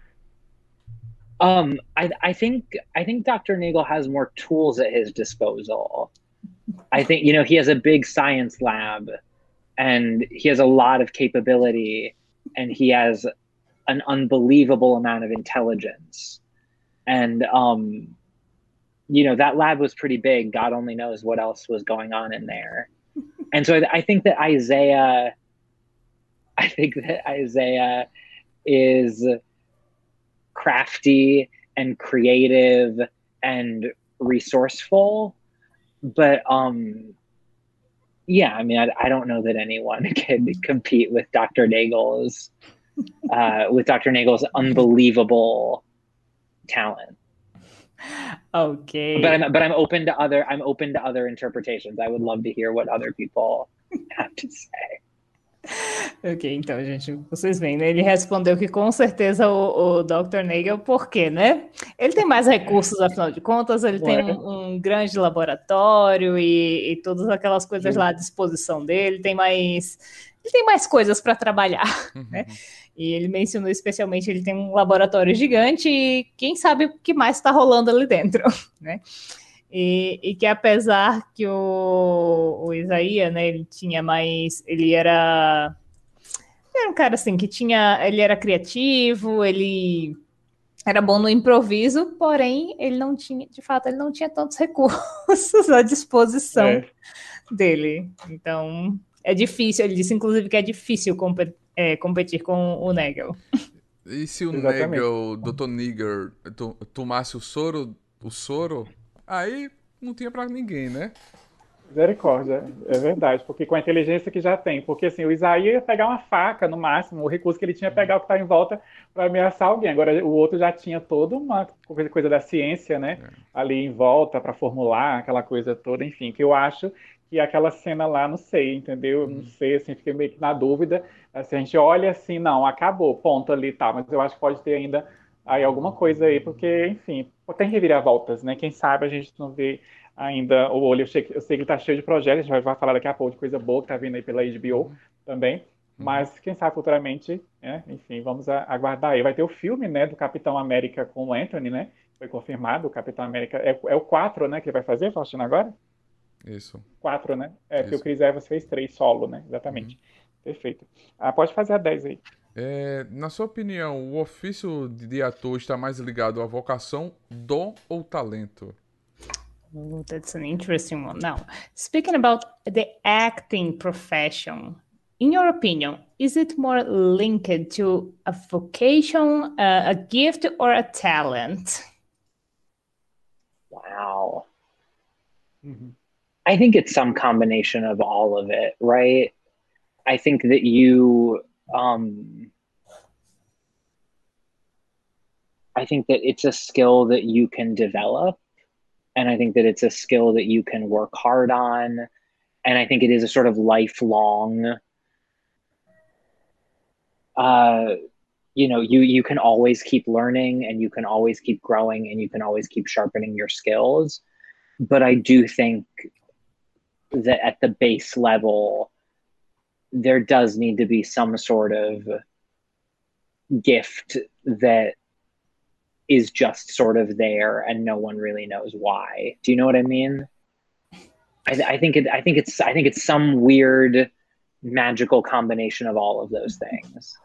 S4: Um, I, I think I think Doctor Nagel has more tools at his disposal. I think, you know, he has a big science lab and he has a lot of capability and he has an unbelievable amount of intelligence. And, um, you know, that lab was pretty big. God only knows what else was going on in there. And so I, I think that Isaiah, I think that Isaiah is crafty and creative and resourceful. But, um, yeah, I mean, I, I don't know that anyone can compete with Doctor Nagel's, uh, with Doctor Nagel's unbelievable talent.
S3: Okay.
S4: But I'm, but I'm open to other, I'm open to other interpretations. I would love to hear what other people have to say.
S3: Ok, então, gente, vocês veem, né? Ele respondeu que com certeza o, o doutor Nagel, por quê, né? Ele tem mais recursos, afinal de contas, ele tem um, um grande laboratório e, e todas aquelas coisas lá à disposição dele, tem mais, ele tem mais coisas para trabalhar, né? E ele mencionou especialmente, ele tem um laboratório gigante e quem sabe o que mais está rolando ali dentro, né? E, e que apesar que o, o Isaías, né, ele tinha mais, ele era, era um cara assim, que tinha, ele era criativo, ele era bom no improviso, porém, ele não tinha, de fato, ele não tinha tantos recursos à disposição é. dele. Então, é difícil, ele disse, inclusive, que é difícil competir, é, competir com o Nagel.
S2: E se o Exatamente. Nagel, o doutor Nigger, tomasse o soro, o soro... Aí não tinha pra ninguém, né?
S5: Misericórdia, é verdade, porque com a inteligência que já tem, porque assim, o Isaías ia pegar uma faca no máximo, o recurso que ele tinha é pegar o que tá em volta para ameaçar alguém, agora o outro já tinha toda uma coisa da ciência, né, é. ali em volta para formular aquela coisa toda, enfim, que eu acho que aquela cena lá, não sei, entendeu? Não sei, assim, fiquei meio que na dúvida, assim, a gente olha assim, não, acabou, ponto ali e tá, mas eu acho que pode ter ainda aí alguma coisa aí, porque, enfim, tem reviravoltas, né? Quem sabe a gente não vê ainda o olho. Eu sei, eu sei que ele tá cheio de projetos, a gente vai falar daqui a pouco de coisa boa que tá vindo aí pela H B O também. Mas quem sabe futuramente, né? Enfim, vamos a, aguardar aí. Vai ter o filme, né, do Capitão América com o Anthony, né? Foi confirmado, o Capitão América. É, é o quatro, né, que ele vai fazer, Faustino, agora?
S2: Isso.
S5: Quatro, né? É, porque o
S2: Isso.
S5: Chris Evans fez três solo, né? Exatamente. Perfeito. Ah, pode fazer a dez aí.
S2: É, na sua opinião, o ofício de ator está mais ligado à vocação, dom ou talento?
S3: Oh, that's an interesting one. Now, speaking about the acting profession, in your opinion, is it more linked to a vocation, uh, a gift, or a talent?
S4: Wow.
S5: Uhum.
S4: I think it's some combination of all of it, right? I think that you, um, I think that it's a skill that you can develop. And I think that it's a skill that you can work hard on. And I think it is a sort of lifelong, uh, you know, you, you can always keep learning and you can always keep growing and you can always keep sharpening your skills. But I do think that at the base level, there does need to be some sort of gift that is just sort of there and no one really knows why. Do you know what I mean? I, I think it, I think it's I think it's some weird magical combination of all of those things.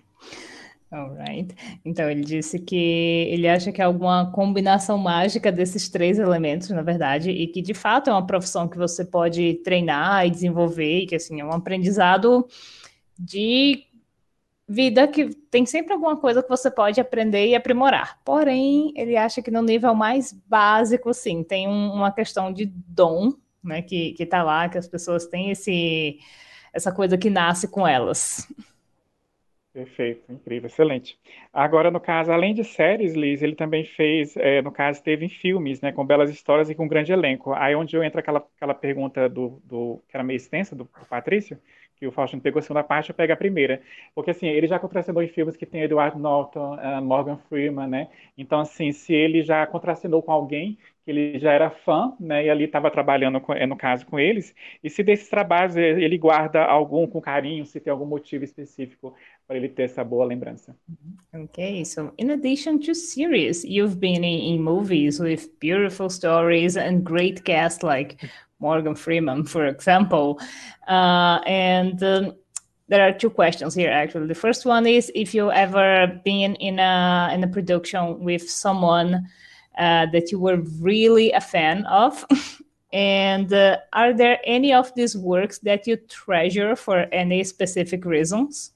S3: Alright. Então ele disse que ele acha que é alguma combinação mágica desses três elementos, na verdade, e que de fato é uma profissão que você pode treinar e desenvolver, e que assim é um aprendizado de vida que tem sempre alguma coisa que você pode aprender e aprimorar. Porém, ele acha que no nível mais básico, sim, tem um, uma questão de dom, né, que, que tá lá, que as pessoas têm esse, essa coisa que nasce com elas.
S5: Perfeito, incrível, excelente. Agora, no caso, além de séries, Liz, ele também fez, é, no caso, teve em filmes, né, com belas histórias e com um grande elenco. Aí onde eu entro aquela, aquela pergunta do, do, que era meio extensa, do, do Patrício, que o Faustino pegou a segunda parte, eu pego a primeira. Porque, assim, ele já contracenou em filmes que tem Edward Norton, uh, Morgan Freeman, né? Então, assim, se ele já contracenou com alguém que ele já era fã, né, e ali estava trabalhando, com, no caso, com eles, e se desses trabalhos ele guarda algum com carinho, se tem algum motivo específico para ele ter essa boa lembrança.
S3: Okay, so in addition to series, you've been in, in movies with beautiful stories and great casts like Morgan Freeman, for example. Uh, and um, there are two questions here, actually. The first one is if you ever been in a in a production with someone uh, that you were really a fan of. And uh, are there any of these works that you treasure for any specific reasons?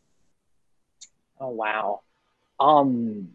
S4: Oh wow. Um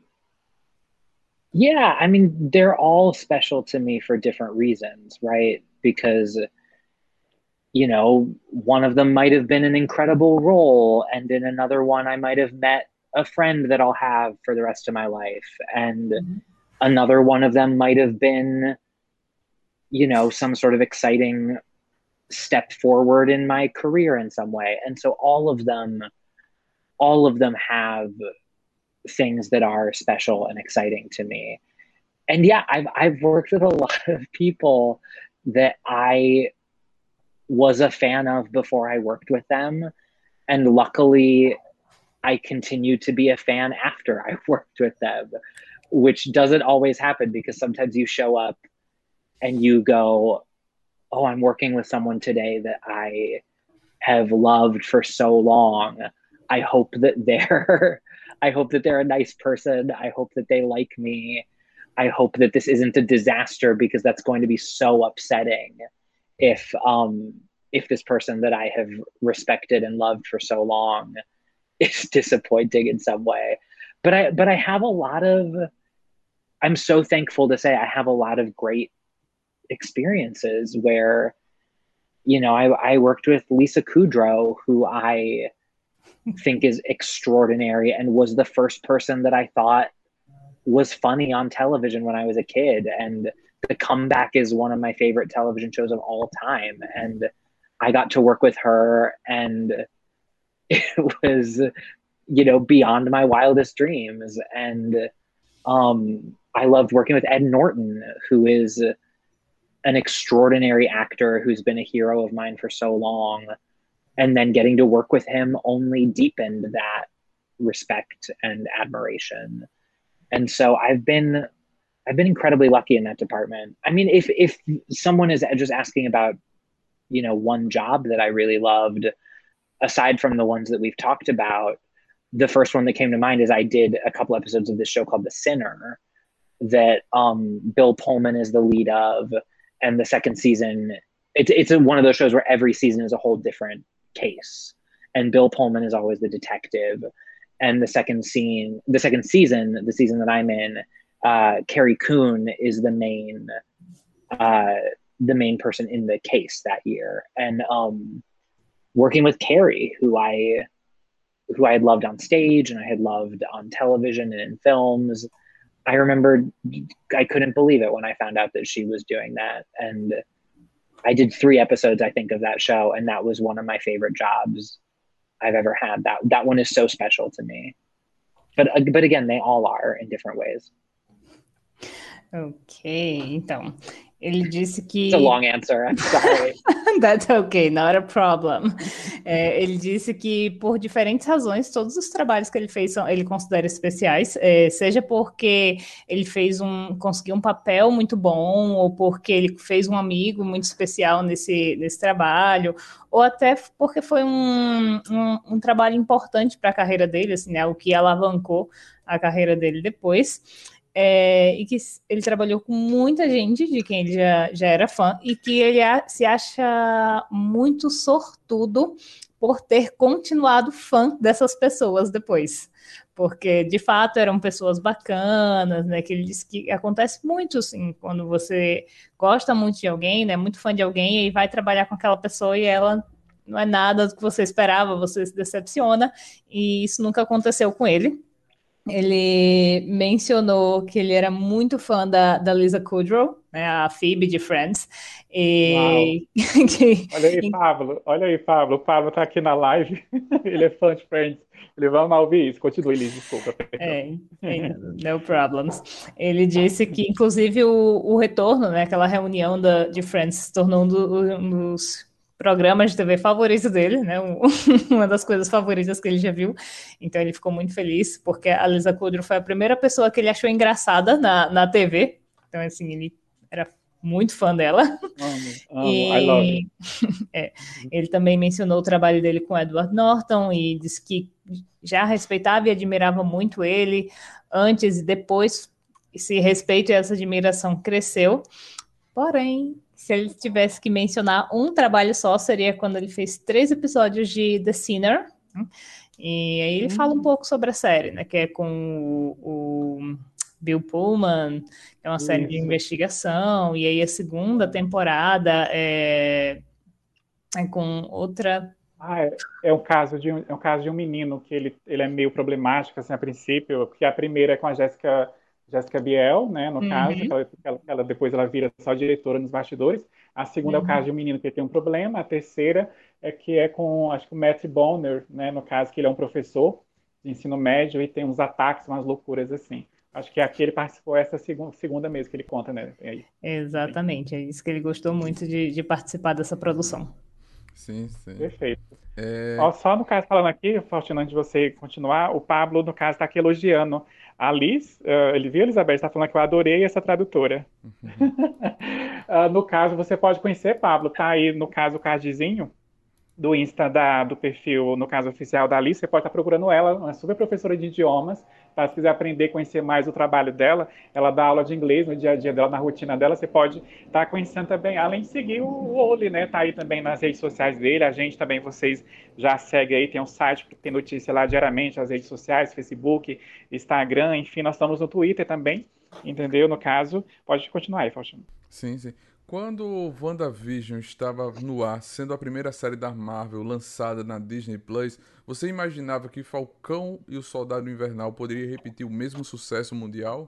S4: yeah, I mean they're all special to me for different reasons, right? Because you know, one of them might have been an incredible role and in another one I might have met a friend that I'll have for the rest of my life and mm-hmm. another one of them might have been you know, some sort of exciting step forward in my career in some way. And so all of them all of them have things that are special and exciting to me. And yeah, I've I've worked with a lot of people that I was a fan of before I worked with them. And luckily, I continue to be a fan after I worked with them, which doesn't always happen because sometimes you show up and you go, oh, I'm working with someone today that I have loved for so long. I hope that they're I hope that they're a nice person. I hope that they like me. I hope that this isn't a disaster because that's going to be so upsetting if um if this person that I have respected and loved for so long is disappointing in some way. But I but I have a lot of I'm so thankful to say I have a lot of great experiences where you know I, I worked with Lisa Kudrow, who I think is extraordinary and was the first person that I thought was funny on television when I was a kid. And The Comeback is one of my favorite television shows of all time. And I got to work with her and it was, you know, beyond my wildest dreams. And um, I loved working with Ed Norton, who is an extraordinary actor who's been a hero of mine for so long, and then getting to work with him only deepened that respect and admiration. And so I've been I've been incredibly lucky in that department. I mean, if if someone is just asking about, you know, one job that I really loved, aside from the ones that we've talked about, the first one that came to mind is I did a couple episodes of this show called The Sinner that um, Bill Pullman is the lead of. And the second season, it's, it's a, one of those shows where every season is a whole different case. And Bill Pullman is always the detective. And the second scene, the second season, the season that I'm in, uh, Carrie Coon is the main, uh, the main person in the case that year. And um, working with Carrie, who I, who I had loved on stage and I had loved on television and in films, I remember I couldn't believe it when I found out that she was doing that. And I did three episodes, I think, of that show. And that was one of my favorite jobs I've ever had. That that one is so special to me. But, but again, they all are in different ways.
S3: Ok, então, ele disse que...
S4: It's a long answer, I'm sorry.
S3: That's okay, not a problem. É, ele disse que, por diferentes razões, todos os trabalhos que ele fez, são, ele considera especiais, é, seja porque ele fez um, conseguiu um papel muito bom, ou porque ele fez um amigo muito especial nesse, nesse trabalho, ou até porque foi um, um, um trabalho importante para a carreira dele, assim, né, o que alavancou a carreira dele depois. É, e que ele trabalhou com muita gente de quem ele já, já era fã e que ele a, se acha muito sortudo por ter continuado fã dessas pessoas depois, porque de fato eram pessoas bacanas, né, que ele disse que acontece muito assim, quando você gosta muito de alguém, né, muito fã de alguém e vai trabalhar com aquela pessoa e ela não é nada do que você esperava, você se decepciona, e isso nunca aconteceu com ele. Ele mencionou que ele era muito fã da, da Lisa Kudrow, né, a Phoebe de Friends. E...
S5: que... Olha aí, Pablo. Olha aí, Pablo. O Pablo tá aqui na live. Ele é fã de Friends. Ele vai mal ouvir isso. Continue, Liz, desculpa.
S3: É, é, no problems. Ele disse que, inclusive, o, o retorno, né, aquela reunião da, de Friends, se tornou um, do, um dos programas de T V favorito dele, né? Uma das coisas favoritas que ele já viu. Então ele ficou muito feliz, porque a Lisa Kudrow foi a primeira pessoa que ele achou engraçada na, na T V. Então, assim, ele era muito fã dela.
S5: Amo, amo,
S3: e,
S5: I love
S3: é, ele também mencionou o trabalho dele com Edward Norton e disse que já respeitava e admirava muito ele antes e depois. Esse respeito e essa admiração cresceu. Porém, se ele tivesse que mencionar um trabalho só, seria quando ele fez três episódios de The Sinner. E aí ele hum. fala um pouco sobre a série, né? Que é com o, o Bill Pullman, que é uma Isso. série de investigação. E aí a segunda temporada é, é com outra...
S5: Ah, é, é, um caso de um, é um caso de um menino que ele, ele é meio problemático, assim, a princípio. Porque a primeira é com a Jessica... Jessica Biel, né, no uhum. caso, que ela, ela, ela, depois ela vira só diretora nos bastidores. A segunda uhum. é o caso de um menino que tem um problema. A terceira é que é com, acho que o Matt Bonner, né, no caso, que ele é um professor de ensino médio e tem uns ataques, umas loucuras assim. Acho que aqui ele participou essa segunda, segunda mesmo que ele conta, né? Aí.
S3: Exatamente, é isso que ele gostou muito de, de participar dessa produção.
S2: Sim, sim.
S5: Perfeito. É... Ó, só no caso, falando aqui, Faustino, antes de você continuar, o Pablo, no caso, está aqui elogiando a Liz. Uh, ele viu, Elizabeth? Está falando que eu adorei essa tradutora. Uhum. uh, no caso, você pode conhecer, Pablo, tá aí, no caso, o cardzinho do Insta da, do perfil, no caso oficial da Alice, você pode estar procurando ela, uma super professora de idiomas, tá? Se quiser aprender, conhecer mais o trabalho dela, ela dá aula de inglês no dia a dia dela, na rotina dela, você pode estar conhecendo também, além de seguir o Oli, né, tá aí também nas redes sociais dele, a gente também, vocês já seguem aí, tem um site que tem notícia lá diariamente, as redes sociais, Facebook, Instagram, enfim, nós estamos no Twitter também, entendeu? No caso, pode continuar aí, Faustino.
S2: Sim, sim. Quando WandaVision estava no ar, sendo a primeira série da Marvel lançada na Disney Plus, você imaginava que Falcão e o Soldado Invernal poderia repetir o mesmo sucesso mundial?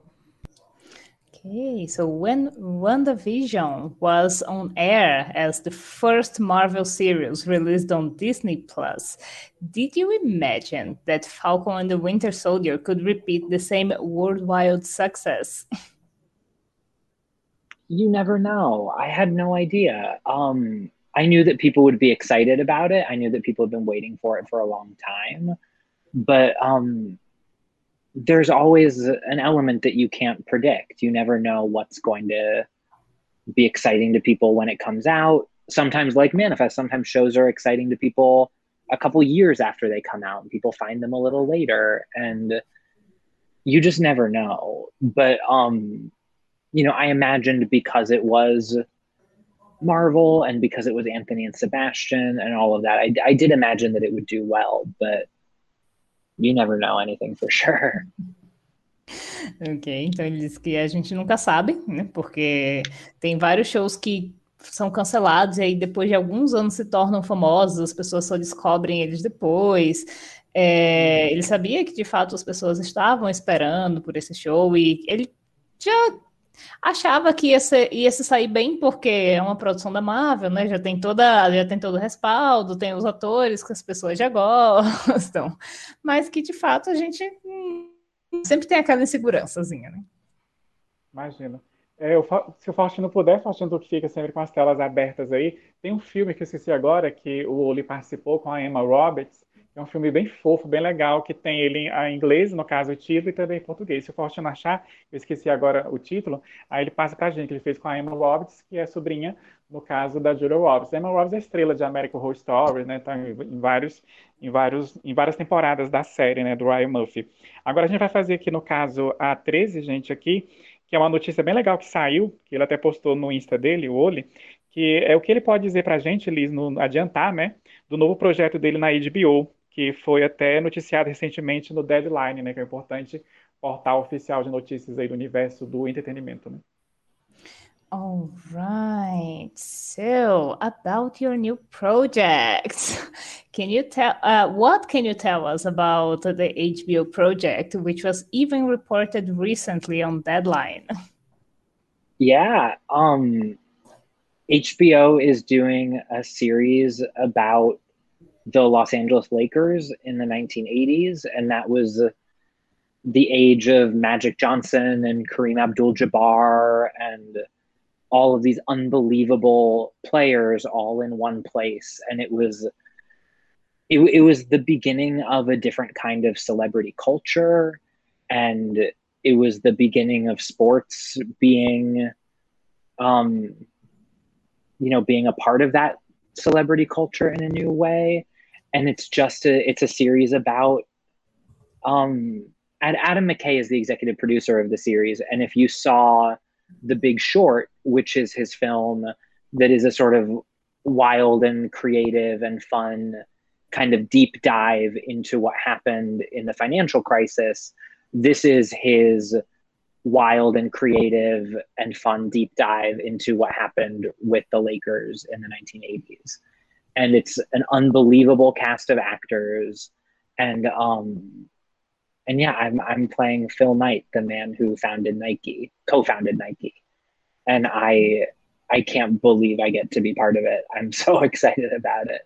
S3: Okay, so when WandaVision was on air as the first Marvel series released on Disney Plus, did you imagine that Falcon and the Winter Soldier could repeat the same worldwide success?
S4: you never know. I had no idea. Um, I knew that people would be excited about it. I knew that people had been waiting for it for a long time. But um, there's always an element that you can't predict. You never know what's going to be exciting to people when it comes out. Sometimes, like Manifest, sometimes shows are exciting to people a couple years after they come out, and people find them a little later. And you just never know. But, um, you know, I imagined because it was Marvel and because it was Anthony and Sebastian and all of that, I, I did imagine that it would do well, but you never know anything for sure.
S3: Ok, então ele disse que a gente nunca sabe, né? Porque tem vários shows que são cancelados e aí depois de alguns anos se tornam famosos, as pessoas só descobrem eles depois. É, ele sabia que de fato as pessoas estavam esperando por esse show e ele já achava que ia, ser, ia se sair bem porque é uma produção da Marvel, né? Já tem toda, já tem todo o respaldo, tem os atores que as pessoas já gostam, mas que de fato a gente hum, sempre tem aquela insegurançazinha, né?
S5: Imagina. É, eu, se o Faustino puder, Faustino que fica sempre com as telas abertas aí, tem um filme que eu esqueci agora, que o Oli participou com a Emma Roberts, é um filme bem fofo, bem legal, que tem ele em inglês, no caso o título, e também em português. Se o Faustino achar, eu esqueci agora o título, aí ele passa pra gente, que ele fez com a Emma Roberts, que é sobrinha, no caso da Julia Roberts. A Emma Roberts é estrela de American Horror Story, né, tá em, vários, em, vários, em várias temporadas da série, né, do Ryan Murphy. Agora a gente vai fazer aqui, no caso, a treze, gente, aqui, que é uma notícia bem legal que saiu, que ele até postou no Insta dele, o Oli, que é o que ele pode dizer pra gente, Liz, no, adiantar, né, do novo projeto dele na H B O, que foi até noticiado recentemente no Deadline, né, que é um importante portal oficial de notícias aí do universo do entretenimento, né?
S3: All right. So, about your new project, can you tell uh, what can you tell us about the H B O project, which was even reported recently on Deadline?
S4: Yeah, um, H B O is doing a series about the Los Angeles Lakers in the nineteen eighties, and that was the age of Magic Johnson and Kareem Abdul-Jabbar and all of these unbelievable players all in one place. And it was it, it was the beginning of a different kind of celebrity culture, and it was the beginning of sports being um you know being a part of that celebrity culture in a new way. And it's just a it's a series about um and Adam McKay is the executive producer of the series. And if you saw The Big Short, which is his film that is a sort of wild and creative and fun kind of deep dive into what happened in the financial crisis, this is his wild and creative and fun deep dive into what happened with the Lakers in the nineteen eighties. And it's an unbelievable cast of actors. And um and yeah, I'm I'm playing Phil Knight, the man who founded Nike, co-founded Nike. And I I can't believe I get to be part of it. I'm so excited about it.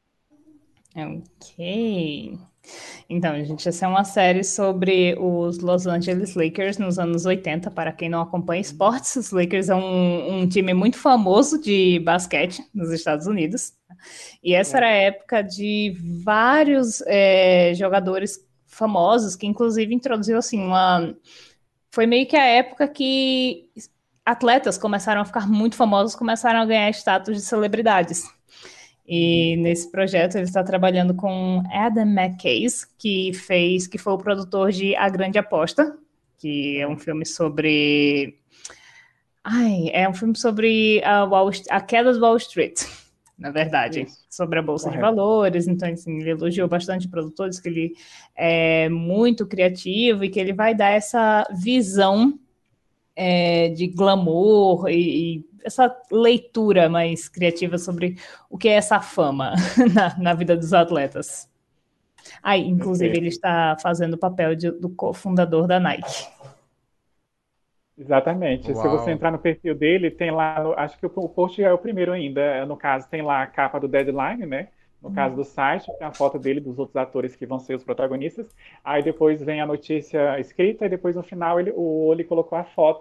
S3: Ok. Então, gente, essa é uma série sobre os Los Angeles Lakers nos anos oitenta. Para quem não acompanha esportes, os Lakers é um, um time muito famoso de basquete nos Estados Unidos. E essa era a época de vários é, jogadores famosos, que inclusive introduziu assim uma... Foi meio que a época que atletas começaram a ficar muito famosos, começaram a ganhar status de celebridades. E nesse projeto ele está trabalhando com Adam McKay, que fez, que foi o produtor de A Grande Aposta, que é um filme sobre... Ai, é um filme sobre a, Wall... a queda do Wall Street, na verdade, Isso. sobre a Bolsa Correto. de Valores. Então, assim, ele elogiou bastante produtores, que ele é muito criativo e que ele vai dar essa visão é, de glamour e, e essa leitura mais criativa sobre o que é essa fama na, na vida dos atletas. Ah, inclusive, okay. ele está fazendo o papel de, do cofundador da Nike.
S5: Exatamente. Uau. Se você entrar no perfil dele, tem lá, no, acho que o, o post é o primeiro ainda, no caso, tem lá a capa do Deadline, né? No hum. caso do site, tem a foto dele, dos outros atores que vão ser os protagonistas. Aí depois vem a notícia escrita, e depois no final ele, o, ele colocou a foto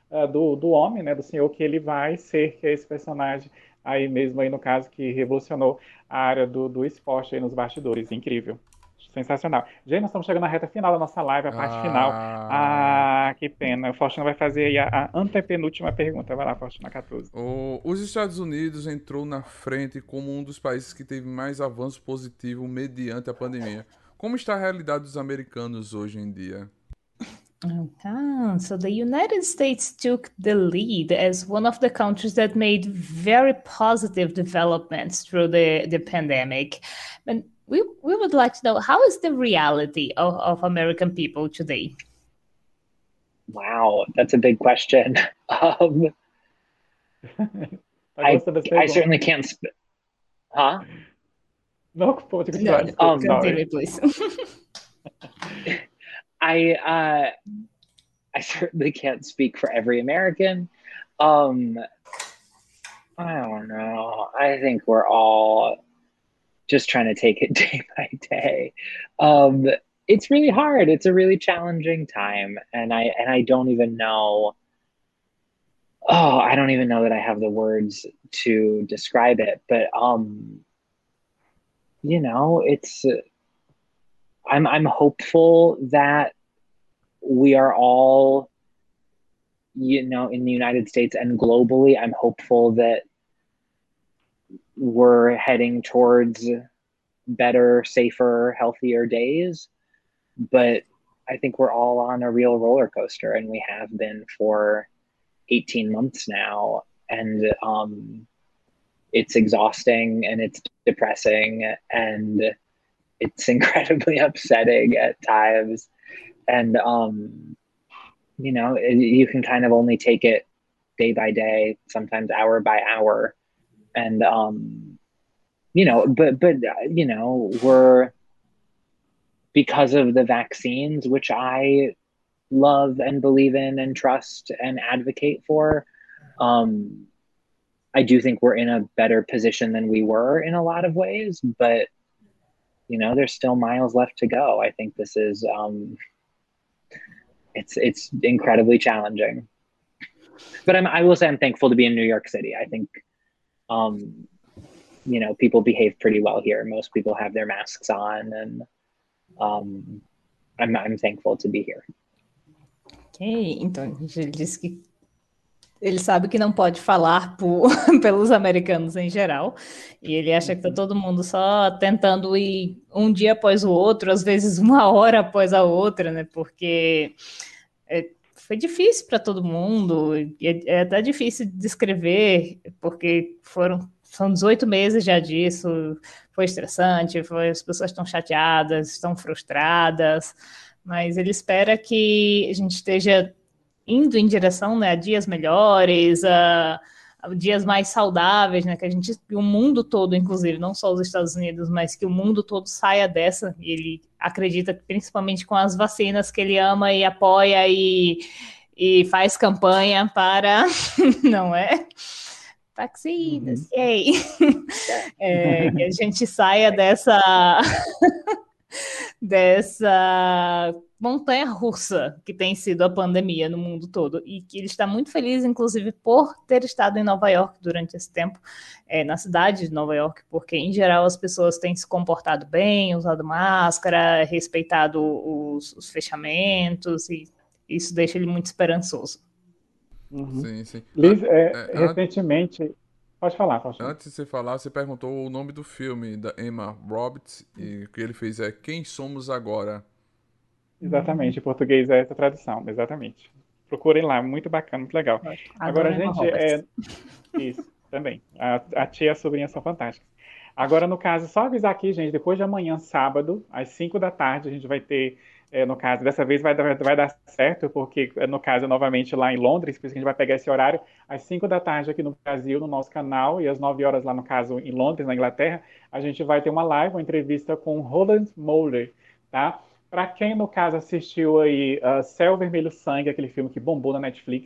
S5: uh, do, do homem, né, do senhor, que ele vai ser, que é esse personagem aí mesmo, aí no caso, que revolucionou a área do, do esporte aí nos bastidores. Incrível. Sensacional. Gente, nós estamos chegando na reta final da nossa live, a parte final.
S2: Ah,
S5: Ah, que pena. O Faustino vai fazer aí a, a antepenúltima pergunta. Vai lá, Faustino, quatorze.
S2: o- os Estados Unidos entrou na frente como um dos países que teve mais avanço positivo mediante a pandemia. Como está a realidade dos americanos hoje em dia?
S3: Ah, so the United States took the lead as one of the countries that made very positive developments through the, the pandemic. And we, we would like to know, how is the reality of, of American people today?
S4: Wow, that's a big question. Um,
S5: Tá
S4: I
S5: gostando das
S4: I
S5: perguntas?
S4: certainly can't. Sp- huh?
S5: Não, pode
S3: No,
S5: continuar.
S3: no,
S5: Desculpa,
S4: Um,
S5: sorry.
S3: continue, please.
S4: I uh, I certainly can't speak for every American. Um, I don't know. I think we're all just trying to take it day by day. Um, it's really hard. It's a really challenging time, and I and I don't even know. Oh, I don't even know that I have the words to describe it. But um, you know, it's. I'm I'm hopeful that we are all, you know, in the United States and globally. I'm hopeful that we're heading towards better, safer, healthier days. But I think we're all on a real roller coaster, and we have been for eighteen months now. And um, it's exhausting and it's depressing and it's incredibly upsetting at times. And, um, you know, it, you can kind of only take it day by day, sometimes hour by hour. And, um, you know, but, but, you know, we're, because of the vaccines, which I love and believe in and trust and advocate for, um, I do think we're in a better position than we were in a lot of ways, but you know, there's still miles left to go. I think this is, um, it's it's incredibly challenging. But I'm, I will say I'm thankful to be in New York City. I think, um, you know, people behave pretty well here. Most people have their masks on, and um, I'm I'm thankful to be here.
S3: Ok, então ele disse que ele sabe que não pode falar por, pelos americanos em geral, e ele acha que está todo mundo só tentando ir um dia após o outro, às vezes uma hora após a outra, né? Porque é, foi difícil para todo mundo, é, é até difícil de descrever, porque foram são dezoito meses já disso, foi estressante, foi, as pessoas estão chateadas, estão frustradas, mas ele espera que a gente esteja indo em direção, né, a dias melhores, a, a dias mais saudáveis, né, que a gente, o mundo todo, inclusive, não só os Estados Unidos, mas que o mundo todo saia dessa. E ele acredita que, principalmente com as vacinas que ele ama e apoia e, e faz campanha para, não é? Vacinas, uhum. Yay! É, que a gente saia dessa dessa montanha russa que tem sido a pandemia no mundo todo, e que ele está muito feliz, inclusive, por ter estado em Nova York durante esse tempo, é, na cidade de Nova York, porque, em geral, as pessoas têm se comportado bem, usado máscara, respeitado os, os fechamentos, e isso deixa ele muito esperançoso.
S5: Uhum.
S2: Sim, sim.
S5: Liz,
S2: An
S5: é,
S2: é,
S5: recentemente... Pode falar, pode falar.
S2: Antes de você falar, você perguntou o nome do filme da Emma Roberts, e o que ele fez é Quem Somos Agora?
S5: Exatamente, em português é essa tradução, exatamente. Procurem lá, muito bacana, muito legal. Agora, gente, é... Isso, também. A, a tia e a sobrinha são fantásticas. Agora, no caso, só avisar aqui, gente, depois de amanhã, sábado, às cinco da tarde, a gente vai ter, é, no caso, dessa vez vai, vai dar certo, porque, no caso, novamente lá em Londres, por isso que a gente vai pegar esse horário, às cinco da tarde aqui no Brasil, no nosso canal, e às nove horas lá, no caso, em Londres, na Inglaterra, a gente vai ter uma live, uma entrevista com Roland Moller, tá? Para quem, no caso, assistiu aí uh, Céu Vermelho Sangue, aquele filme que bombou na Netflix,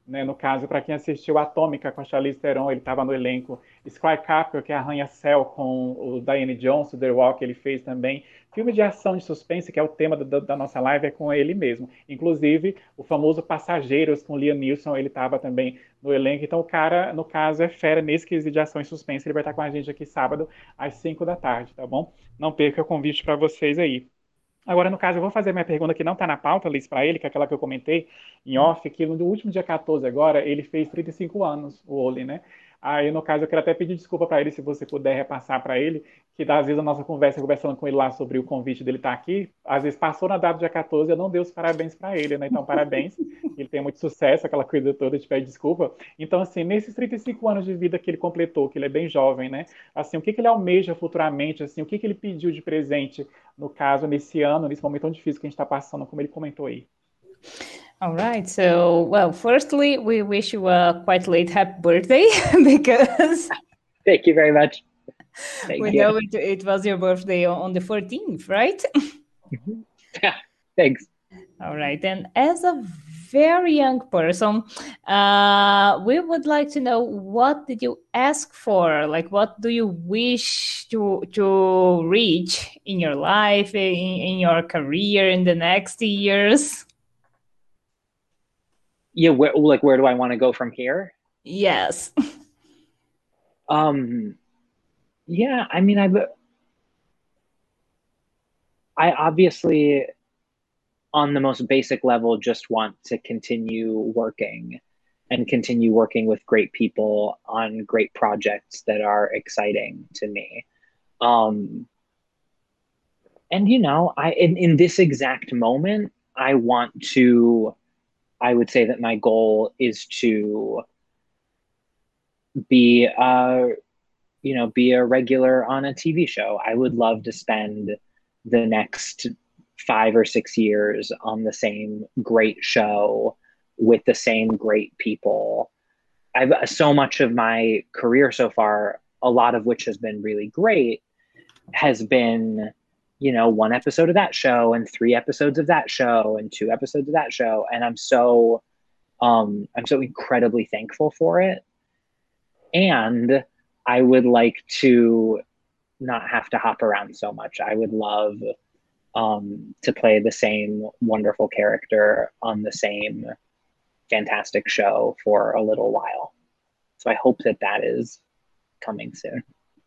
S5: né? No caso, para quem assistiu Atômica com a Charlize Theron, ele estava no elenco. Sky Captor, que é Arranha-Céu com o Diane Johnson, The Rock, ele fez também. Filme de ação de suspense, que é o tema da, da nossa live, é com ele mesmo. Inclusive, o famoso Passageiros com Liam Neeson, ele estava também no elenco. Então, o cara, no caso, é fera nesse quesito de ação e suspense. Ele vai estar com a gente aqui sábado, às cinco da tarde, tá bom? Não perca o convite para vocês aí. Agora, no caso, eu vou fazer minha pergunta que não está na pauta, Liz, para ele, que é aquela que eu comentei em off, que no último dia quatorze agora, ele fez trinta e cinco anos, o Oli, né? Aí, no caso, eu quero até pedir desculpa para ele, se você puder repassar para ele, que às vezes a nossa conversa, conversando com ele lá sobre o convite dele estar aqui, às vezes passou na data do dia quatorze e eu não dei os parabéns para ele, né? Então, parabéns, ele tem muito sucesso, aquela coisa toda, te pede desculpa. Então, assim, nesses trinta e cinco anos de vida que ele completou, que ele é bem jovem, né? Assim, o que, que ele almeja futuramente, assim, o que, que ele pediu de presente, no caso, nesse ano, nesse momento tão difícil que a gente está passando, como ele comentou aí.
S3: All right. So, well, firstly, we wish you a quite late happy birthday because
S4: Thank you very much. Thank
S3: we
S4: you.
S3: know it, it was your birthday on the fourteenth, right?
S4: Thanks.
S3: All right. And as a very young person, uh, we would like to know, what did you ask for? Like, what do you wish to to reach in your life, in, in your career, in the next years?
S4: Yeah, where, like, where do I want to go from here?
S3: Yes.
S4: Um, yeah, I mean, I've, I obviously, on the most basic level, just want to continue working and continue working with great people on great projects that are exciting to me. Um, and, you know, I, in, in this exact moment, I want to, I would say that my goal is to be, uh, you know, be a regular on a T V show. I would love to spend the next five or six years on the same great show with the same great people. I've so much of my career so far, a lot of which has been really great, has been, you know, one episode of that show and three episodes of that show and two episodes of that show. And I'm so, um, I'm so incredibly thankful for it. And I would like to not have to hop around so much. I would love um, to play the same wonderful character on the same fantastic show for a little while. So I hope that that is coming soon.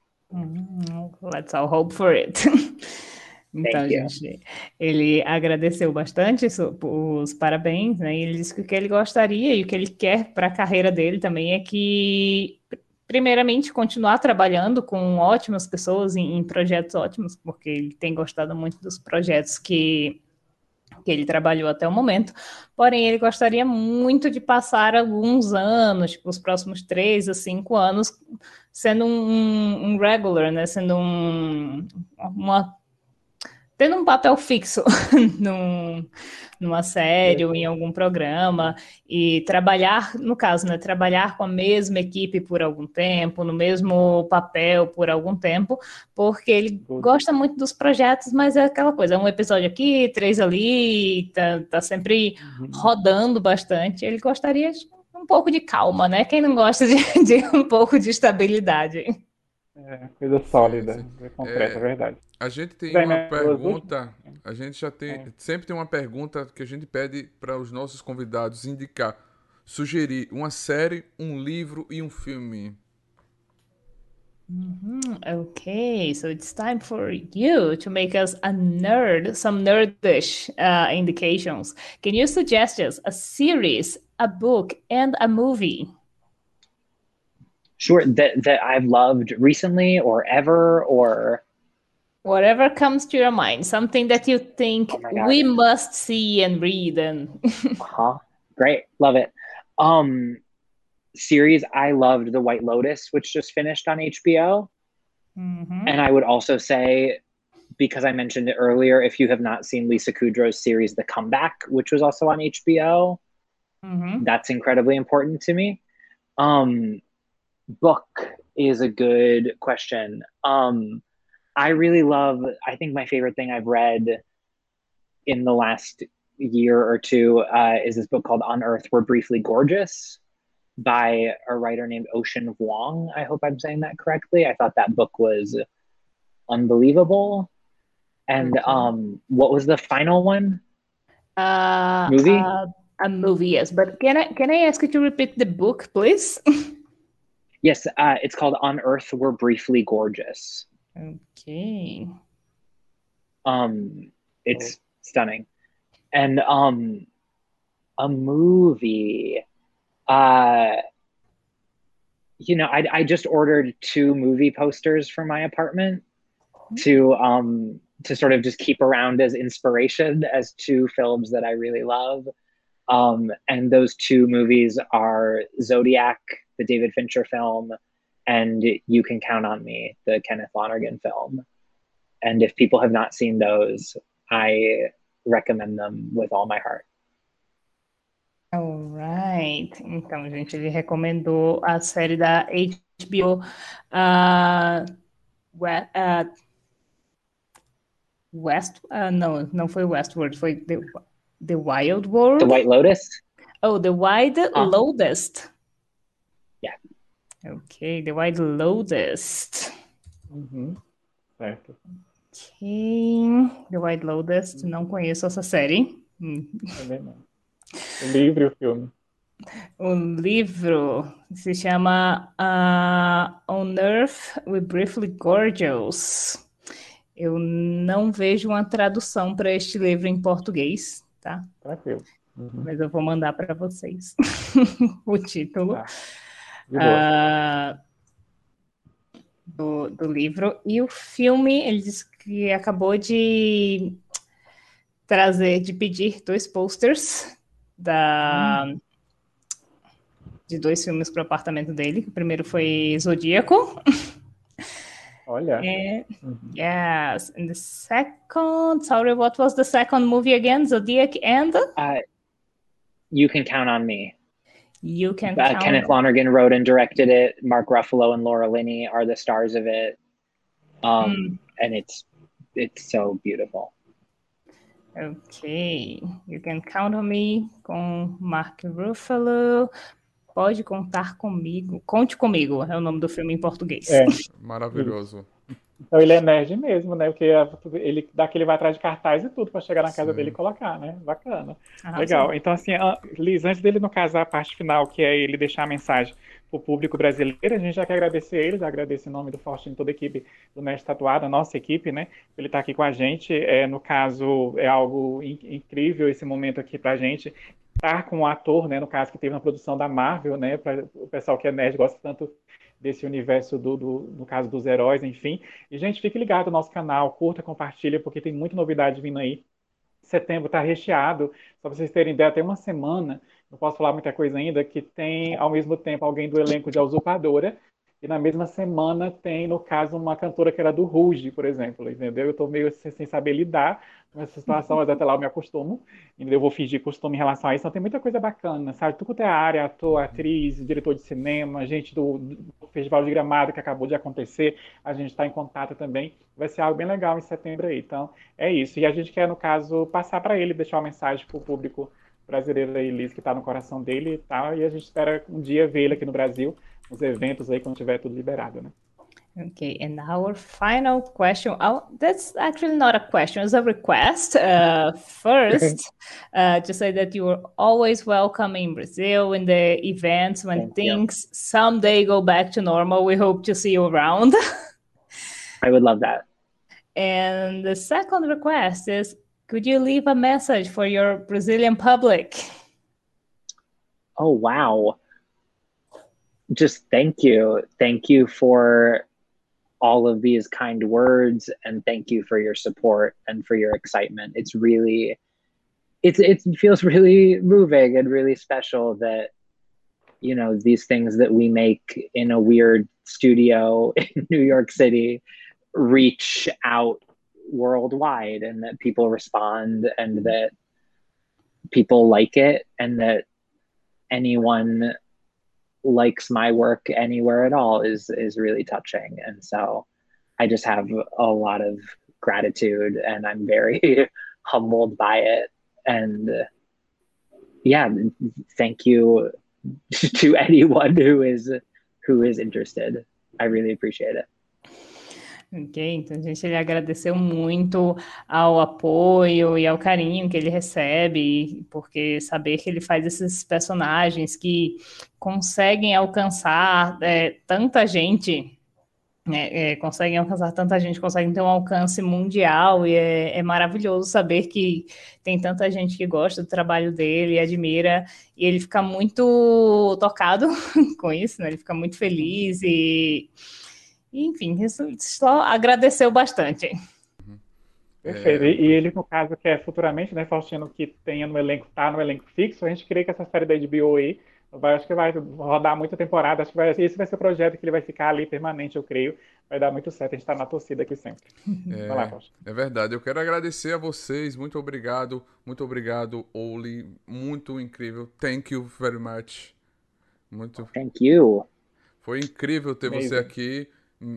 S3: Mm, let's all hope for it. Então, gente, ele agradeceu bastante os parabéns, né? E ele disse que o que ele gostaria e o que ele quer para a carreira dele também é que, primeiramente, continuar trabalhando com ótimas pessoas em, em projetos ótimos, porque ele tem gostado muito dos projetos que, que ele trabalhou até o momento. Porém, ele gostaria muito de passar alguns anos, tipo, os próximos três a cinco anos, sendo um, um regular, né? Sendo um, uma tendo um papel fixo num, numa série ou em algum programa, e trabalhar, no caso, né, trabalhar com a mesma equipe por algum tempo, no mesmo papel por algum tempo, porque ele gosta muito dos projetos, mas é aquela coisa, um episódio aqui, três ali, tá, tá sempre rodando bastante. Ele gostaria de um pouco de calma, né? Quem não gosta de, de um pouco de estabilidade?
S5: É, coisa sólida, sim, sim. Concreta, é, é verdade.
S2: A gente tem Bem, uma pergunta, a gente já tem, é. sempre tem uma pergunta que a gente pede para os nossos convidados indicar, sugerir uma série, um livro e um filme.
S3: Mm-hmm. Okay, so it's time for you to make us a nerd, some nerdish uh, indications. Can you suggest us a series, a book, and a movie?
S4: Sure, that that I've loved recently or ever, or
S3: whatever comes to your mind, something that you think oh we must see and read. And
S4: uh-huh. Great, love it. Um, series, I loved The White Lotus, which just finished on H B O. Mm-hmm. And I would also say, because I mentioned it earlier, if you have not seen Lisa Kudrow's series The Comeback, which was also on H B O, mm-hmm. that's incredibly important to me. Um, book is a good question. Um, I really love, I think my favorite thing I've read in the last year or two uh, is this book called On Earth We're Briefly Gorgeous by a writer named Ocean Vuong. I hope I'm saying that correctly. I thought that book was unbelievable. And okay. um, what was the final one?
S3: Uh,
S4: movie?
S3: Uh, a movie, yes. But can I can I ask you to repeat the book, please?
S4: Yes, uh, it's called On Earth We're Briefly Gorgeous.
S3: Okay.
S4: Um, it's oh. stunning. And um, a movie. Uh, you know, I I just ordered two movie posters for my apartment mm-hmm. to um to sort of just keep around as inspiration as two films that I really love. Um, and those two movies are Zodiac, the David Fincher film, and You Can Count on Me, the Kenneth Lonergan film. And if people have not seen those, I recommend them with all my heart.
S3: Alright. Então, gente, ele recomendou a série da H B O uh, uh, West, uh, não, não foi Westworld, foi The, The Wild World.
S4: The White Lotus?
S3: Oh, The White uh. Lotus.
S4: Yeah.
S3: Ok, The White Lotus.
S5: Uhum. Certo.
S3: Ok, The White Lotus, não conheço essa série.
S5: Também não. O livro e o filme.
S3: O livro se chama uh, On Earth We're Briefly Gorgeous. Eu não vejo uma tradução para este livro em português, tá?
S5: Tranquilo. Uhum.
S3: Mas eu vou mandar para vocês o título
S5: ah,
S3: uh, do, do livro. E o filme, ele disse que acabou de trazer, de pedir dois posters da, hum. de dois filmes para o apartamento dele. O primeiro foi Zodíaco.
S5: Olha.
S3: And, mm-hmm. Yes. And the second, sorry, what was the second movie again? Zodiac and?
S4: Uh, You Can Count on Me.
S3: You Can
S4: uh,
S3: Count
S4: Kenneth on Lonergan wrote and directed it. Mark Ruffalo and Laura Linney are the stars of it. Um, mm. And it's it's so beautiful.
S3: Okay. You Can Count on Me com Mark Ruffalo. Pode contar comigo. Conte comigo é o nome do filme em português.
S5: É.
S2: Maravilhoso.
S5: Então ele é nerd mesmo, né? Porque ele daqui ele vai atrás de cartaz e tudo para chegar na casa sim. dele e colocar, né? Bacana. Ah, legal. Sim. Então, assim, Liz, antes dele, no caso, a parte final, que é ele deixar a mensagem para o público brasileiro, a gente já quer agradecer ele, agradecer em nome do Faustino, toda a equipe do Nerd Tatuado, a nossa equipe, né? Ele está aqui com a gente. É, no caso, é algo in- incrível esse momento aqui para a gente. Estar com um ator, né, no caso que teve na produção da Marvel, né, para o pessoal que é nerd gosta tanto desse universo do, do, no caso dos heróis, enfim. E gente, fique ligado no nosso canal, curta, compartilha, porque tem muita novidade vindo aí. Setembro está recheado, só para vocês terem ideia, tem uma semana, não posso falar muita coisa ainda, que tem ao mesmo tempo alguém do elenco de A Usurpadora, e na mesma semana tem, no caso, uma cantora que era do Ruge, por exemplo, entendeu? Eu estou meio sem saber lidar com essa situação, mas até lá eu me acostumo, e eu vou fingir costume em relação a isso. Então tem muita coisa bacana, sabe? Tudo quanto é área, ator, atriz, diretor de cinema, gente do, do Festival de Gramado que acabou de acontecer, a gente está em contato também. Vai ser algo bem legal em setembro aí. Então é isso. E a gente quer, no caso, passar para ele, deixar uma mensagem para o público brasileiro aí, Liz, que está no coração dele e tal, e a gente espera um dia ver ele aqui no Brasil, nos eventos aí, quando tiver tudo liberado, né?
S3: Okay, and our final question, oh, that's actually not a question, it's a request. Uh, first, uh, to say that you are always welcome in Brazil in the events when Thank things you. someday go back to normal. We hope to see you around.
S4: I would love that.
S3: And the second request is, could you leave a message for your Brazilian public?
S4: Oh, wow. Just thank you. Thank you for all of these kind words, and thank you for your support and for your excitement. It's really, it's, it feels really moving and really special that, you know, these things that we make in a weird studio in New York City reach out worldwide, and that people respond, and that people like it, and that anyone likes my work anywhere at all is is really touching. And so I just have a lot of gratitude, and I'm very humbled by it. and uh, yeah, thank you to anyone who is who is interested. I really appreciate it.
S3: Ok, então a gente ele agradeceu muito ao apoio e ao carinho que ele recebe, porque saber que ele faz esses personagens que conseguem alcançar é, tanta gente, né, é, conseguem alcançar tanta gente, conseguem ter um alcance mundial, e é, é maravilhoso saber que tem tanta gente que gosta do trabalho dele e admira, e ele fica muito tocado com isso, né? Ele fica muito feliz e... Enfim, isso só agradeceu bastante.
S5: Perfeito. É... E ele, no caso, que é futuramente, né, Faustino, que tenha no elenco, tá no elenco fixo, a gente crê que essa série da H B O aí, vai, acho que vai rodar muita temporada, acho que vai, esse vai ser o projeto que ele vai ficar ali permanente, eu creio. Vai dar muito certo, a gente tá na torcida aqui sempre.
S2: É, vai lá, Faustino. É verdade, eu quero agradecer a vocês, muito obrigado, muito obrigado, Oli, muito incrível, thank you very much. Muito...
S4: Thank you.
S2: Foi incrível ter Amazing. Você aqui.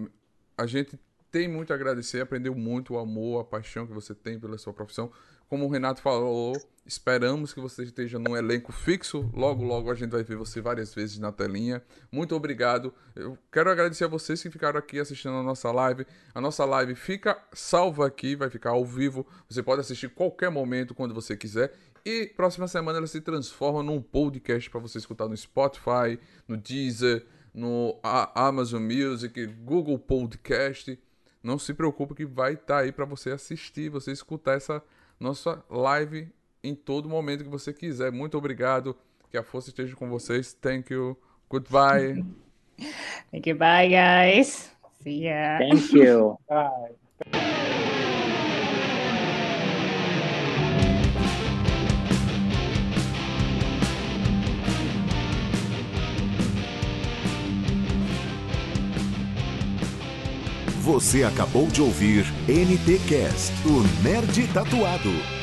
S2: A gente tem muito a agradecer, aprendeu muito o amor, a paixão que você tem pela sua profissão. Como o Renato falou, esperamos que você esteja num elenco fixo. Logo, logo a gente vai ver você várias vezes na telinha. Muito obrigado. Eu quero agradecer a vocês que ficaram aqui assistindo a nossa live. A nossa live fica salva aqui, vai ficar ao vivo. Você pode assistir qualquer momento, quando você quiser. E próxima semana ela se transforma num podcast para você escutar no Spotify, no Deezer, no Amazon Music, Google Podcast. Não se preocupe que vai estar aí para você assistir, você escutar essa nossa live em todo momento que você quiser. Muito obrigado, que a força esteja com vocês. Thank you, goodbye.
S3: Thank you, bye guys. See ya.
S4: Thank you.
S5: Bye.
S1: Você acabou de ouvir N T Cast, o Nerd Tatuado.